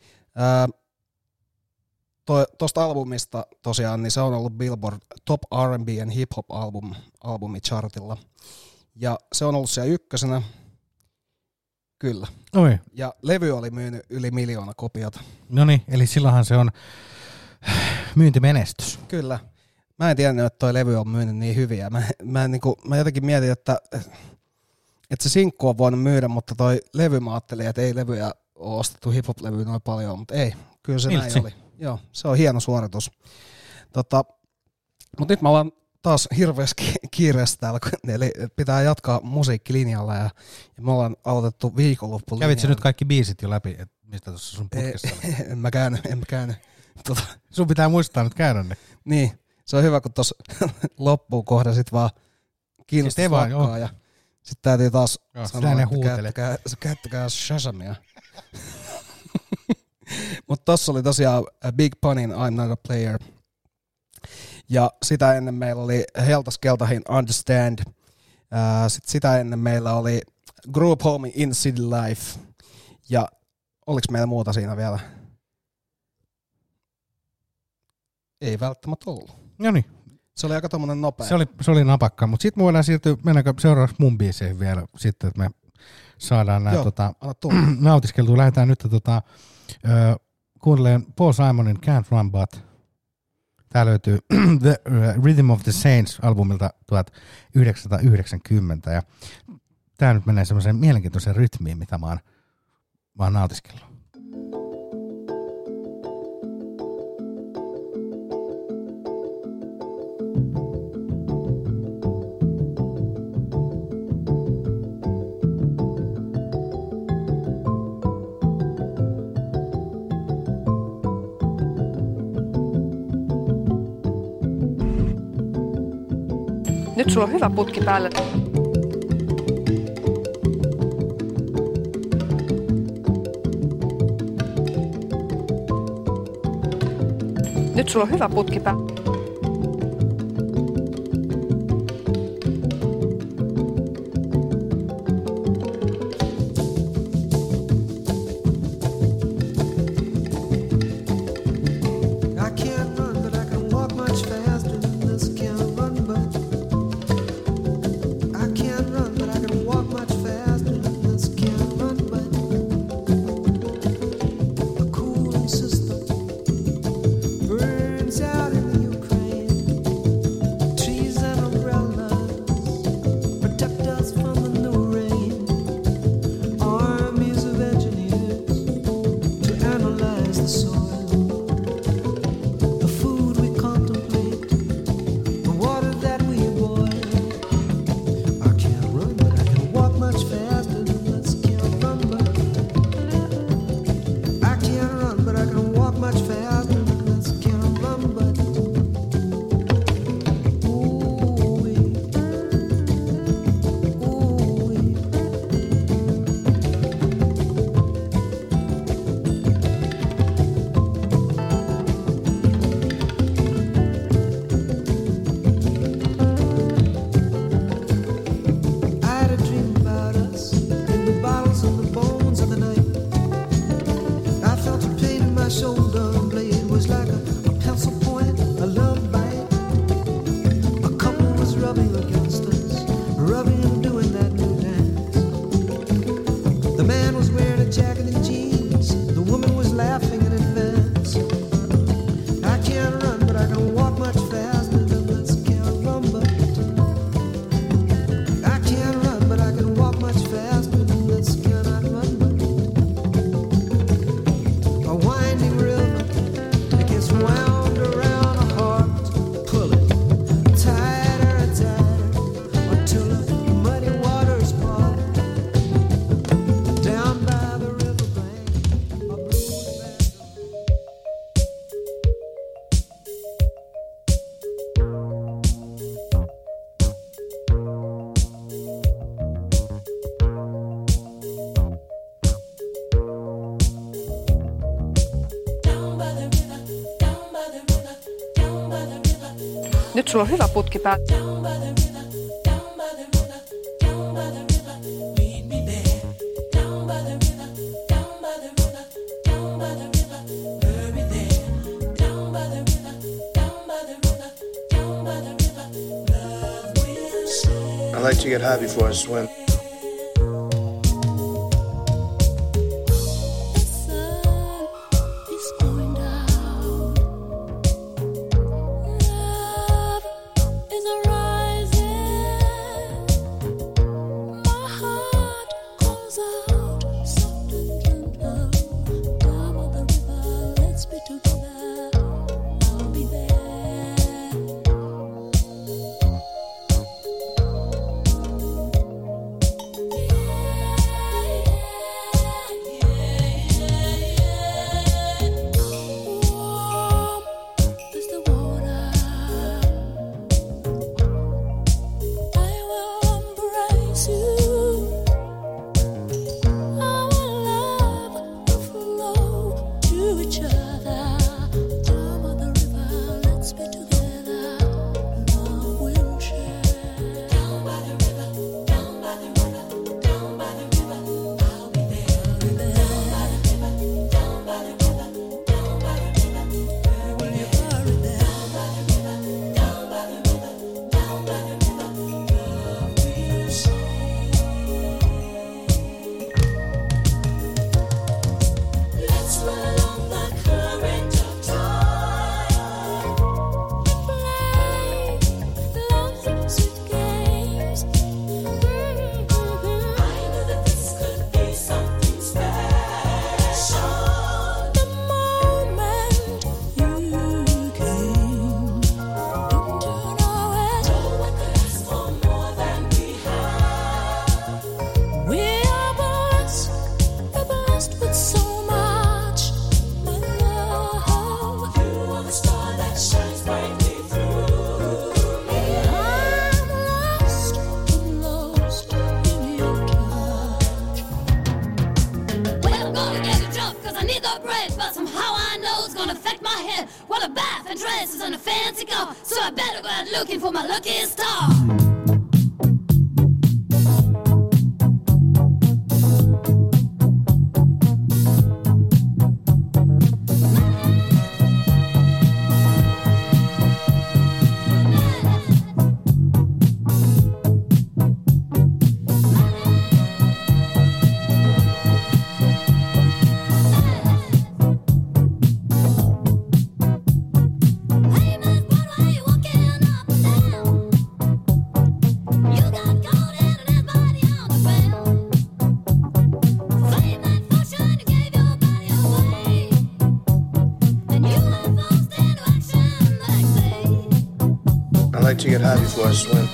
Tuosta albumista tosiaan, niin se on ollut Billboard Top R&B and Hip Hop albumi chartilla. Ja se on ollut siellä 1. Kyllä. Oi. Ja levy oli myynyt yli 1 miljoona kopiota. Noniin, eli silloinhan se on myyntimenestys. Kyllä. Mä en tiennyt, että toi levy on myynyt niin hyviä. Mä jotenkin mietin, että se sinkku on voinut myydä, mutta toi levy mä ajattelin, että ei levyjä ole ostettu hip-hop-levyä noin paljon, mutta ei. Kyllä se näin oli. Joo, se on hieno suoritus. Mutta nyt mä ollaan taas hirveästi kiireessä täällä, eli pitää jatkaa musiikkilinjalla ja me ollaan aloitettu viikonloppulinjalla. Kävitsä nyt kaikki biisit jo läpi, mistä tuossa sun putkessa oli? En mä käynyt. Sun pitää muistaa nyt käydä ne. Niin, se on hyvä, kun tuossa loppuun kohda sit vaan kiinnostus lakkaa ja sit täytyy taas sanoa, että käyttäkää Shazamia. Mutta tossa oli tosiaan Big Punin I'm Not a Player. Ja sitä ennen meillä oli Heltas Keltahin Understand. Sitten sitä ennen meillä oli Group Home in City Life. Ja oliko meillä muuta siinä vielä? Ei välttämättä ollut. Noniin. Se oli aika tommonen nopea. Se oli napakka, mutta sitten me voidaan siirtyä, mennäänkö seuraavaksi mun biiseihin vielä sitten, että me saadaan nämä nautiskeltua. Lähdetään nyt kuuntelemaan Paul Simonin Can't Run But. Tää löytyy The Rhythm of the Saints -albumilta 1990 ja tää nyt menee semmoiseen mielenkiintoiseen rytmiin, mitä mä oon nautiskellut. Nyt sulla on hyvä putki päällä. Nyt sulla on hyvä putki päällä. rubbing against us, rubbing and doing that new dance. The man was wearing a jacket and jeans, the woman was laughing in advance. I can't run, but I can walk much faster than this can't rumba. I can't run, but I can walk much faster than this cannot rumba. A winding river, it gets wound around a heart. Pull it tighter and tighter until the muddy waters part. Down by the riverbank, a blue Nyt sulla on hyvä putki päällä. I like to get high before I swim. Looking for my lucky star. I like to get high before I swim.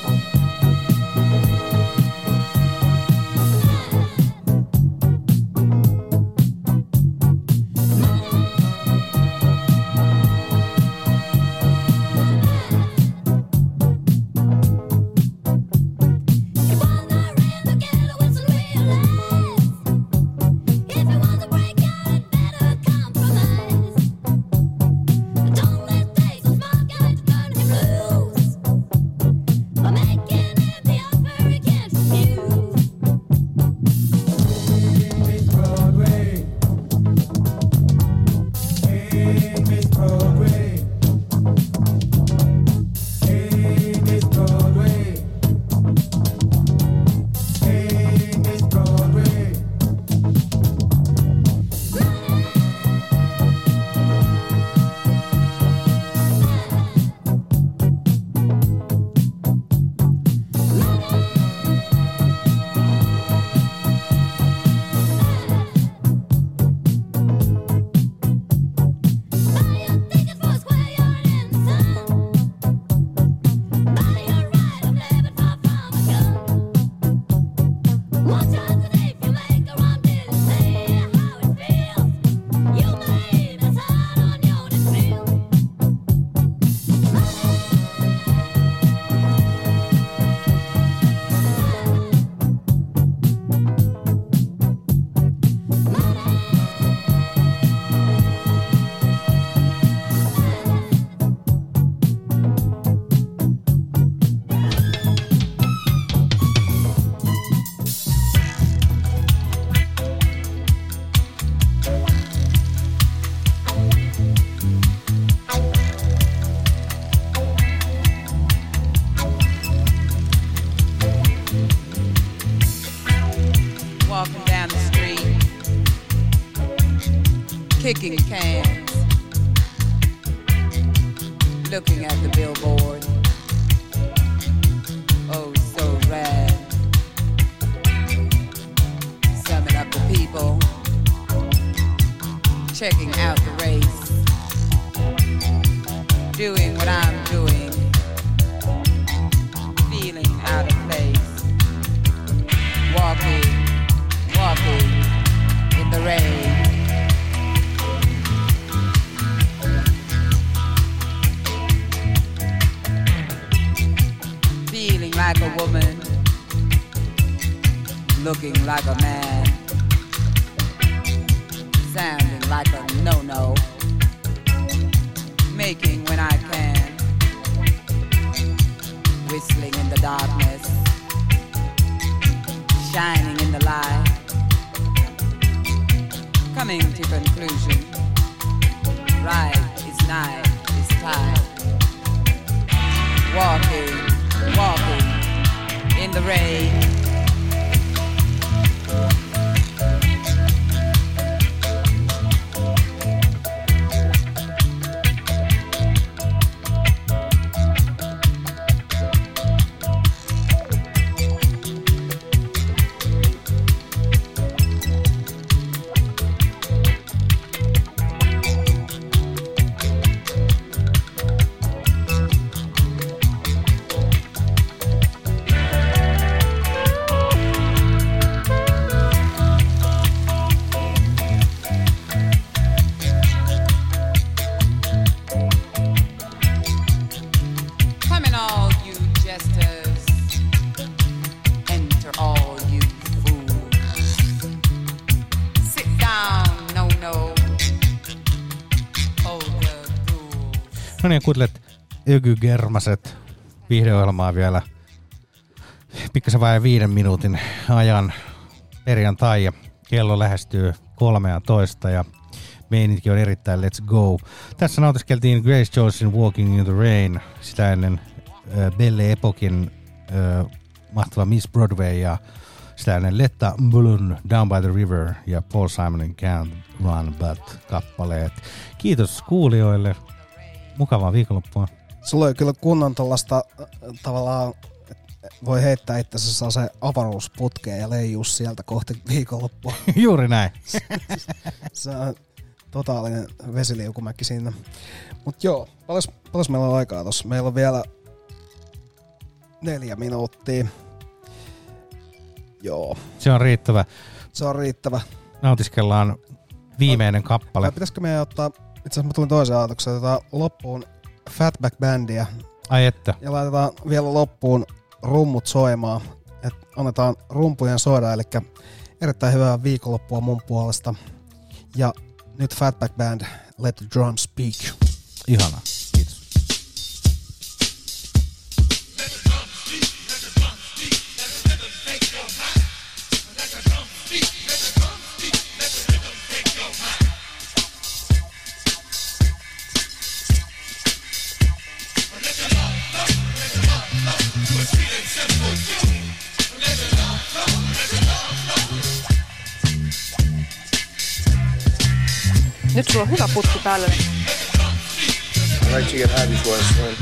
Make it kicking cans, looking at the billboard. Oh, so rad. Summing up the people, checking out the race, doing what I'm doing, feeling out of place, walking in the rain. Feeling like a woman, looking like a man, sounding like a no-no, making when I can, whistling in the darkness, shining in the light, coming to conclusion, right is night is time, walking in the rain. No niin, kuuntelet Ökygermaset viihdeohjelmaa vielä pikkasen vain 5 minuutin ajan perjantai ja kello lähestyy 13 ja meininki on erittäin let's go. Tässä nautiskeltiin Grace Jonesin Walking in the Rain, sitä ennen Belle Epokin mahtava Miss Broadway ja sitä ennen Letta Mbulun Down by the River ja Paul Simonin Can't Run But kappaleet. Kiitos kuulijoille. Mukavaa viikonloppua. Sulla oli kyllä kunnon tuollaista tavallaan, voi heittää itsensä se avaruusputkeen ja leijuu sieltä kohti viikonloppua. Juuri näin. Se on totaalinen vesiliukumäki siinä. Mut joo, paljon meillä on aikaa tossa? Meillä on vielä 4 minuuttia. Joo. Se on riittävä. Se on riittävä. Nautiskellaan viimeinen kappale. Vai pitäisikö meidän ottaa, itse asiassa mä tulin toisen ajatuksen, otetaan loppuun Fatback Bandia. Ai että. Ja laitetaan vielä loppuun rummut soimaan. Et annetaan rumpujen soida, eli erittäin hyvää viikonloppua mun puolesta. Ja nyt Fatback Band, Let the Drums Speak. Ihanaa. Kiitos. Nyt sulla on hyvä putki päällä. I like to get high before I swim.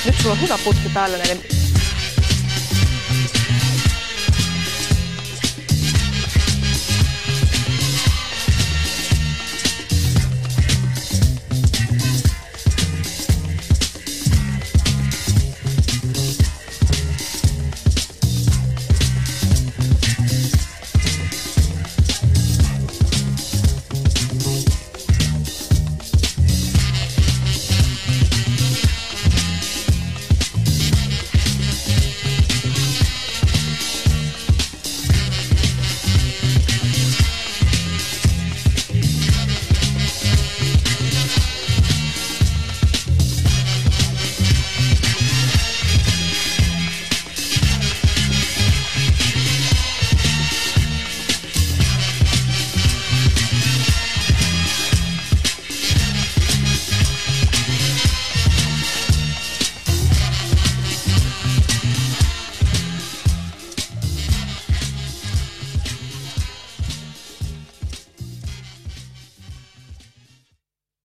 Nyt sulla on hyvä putki päällä näiden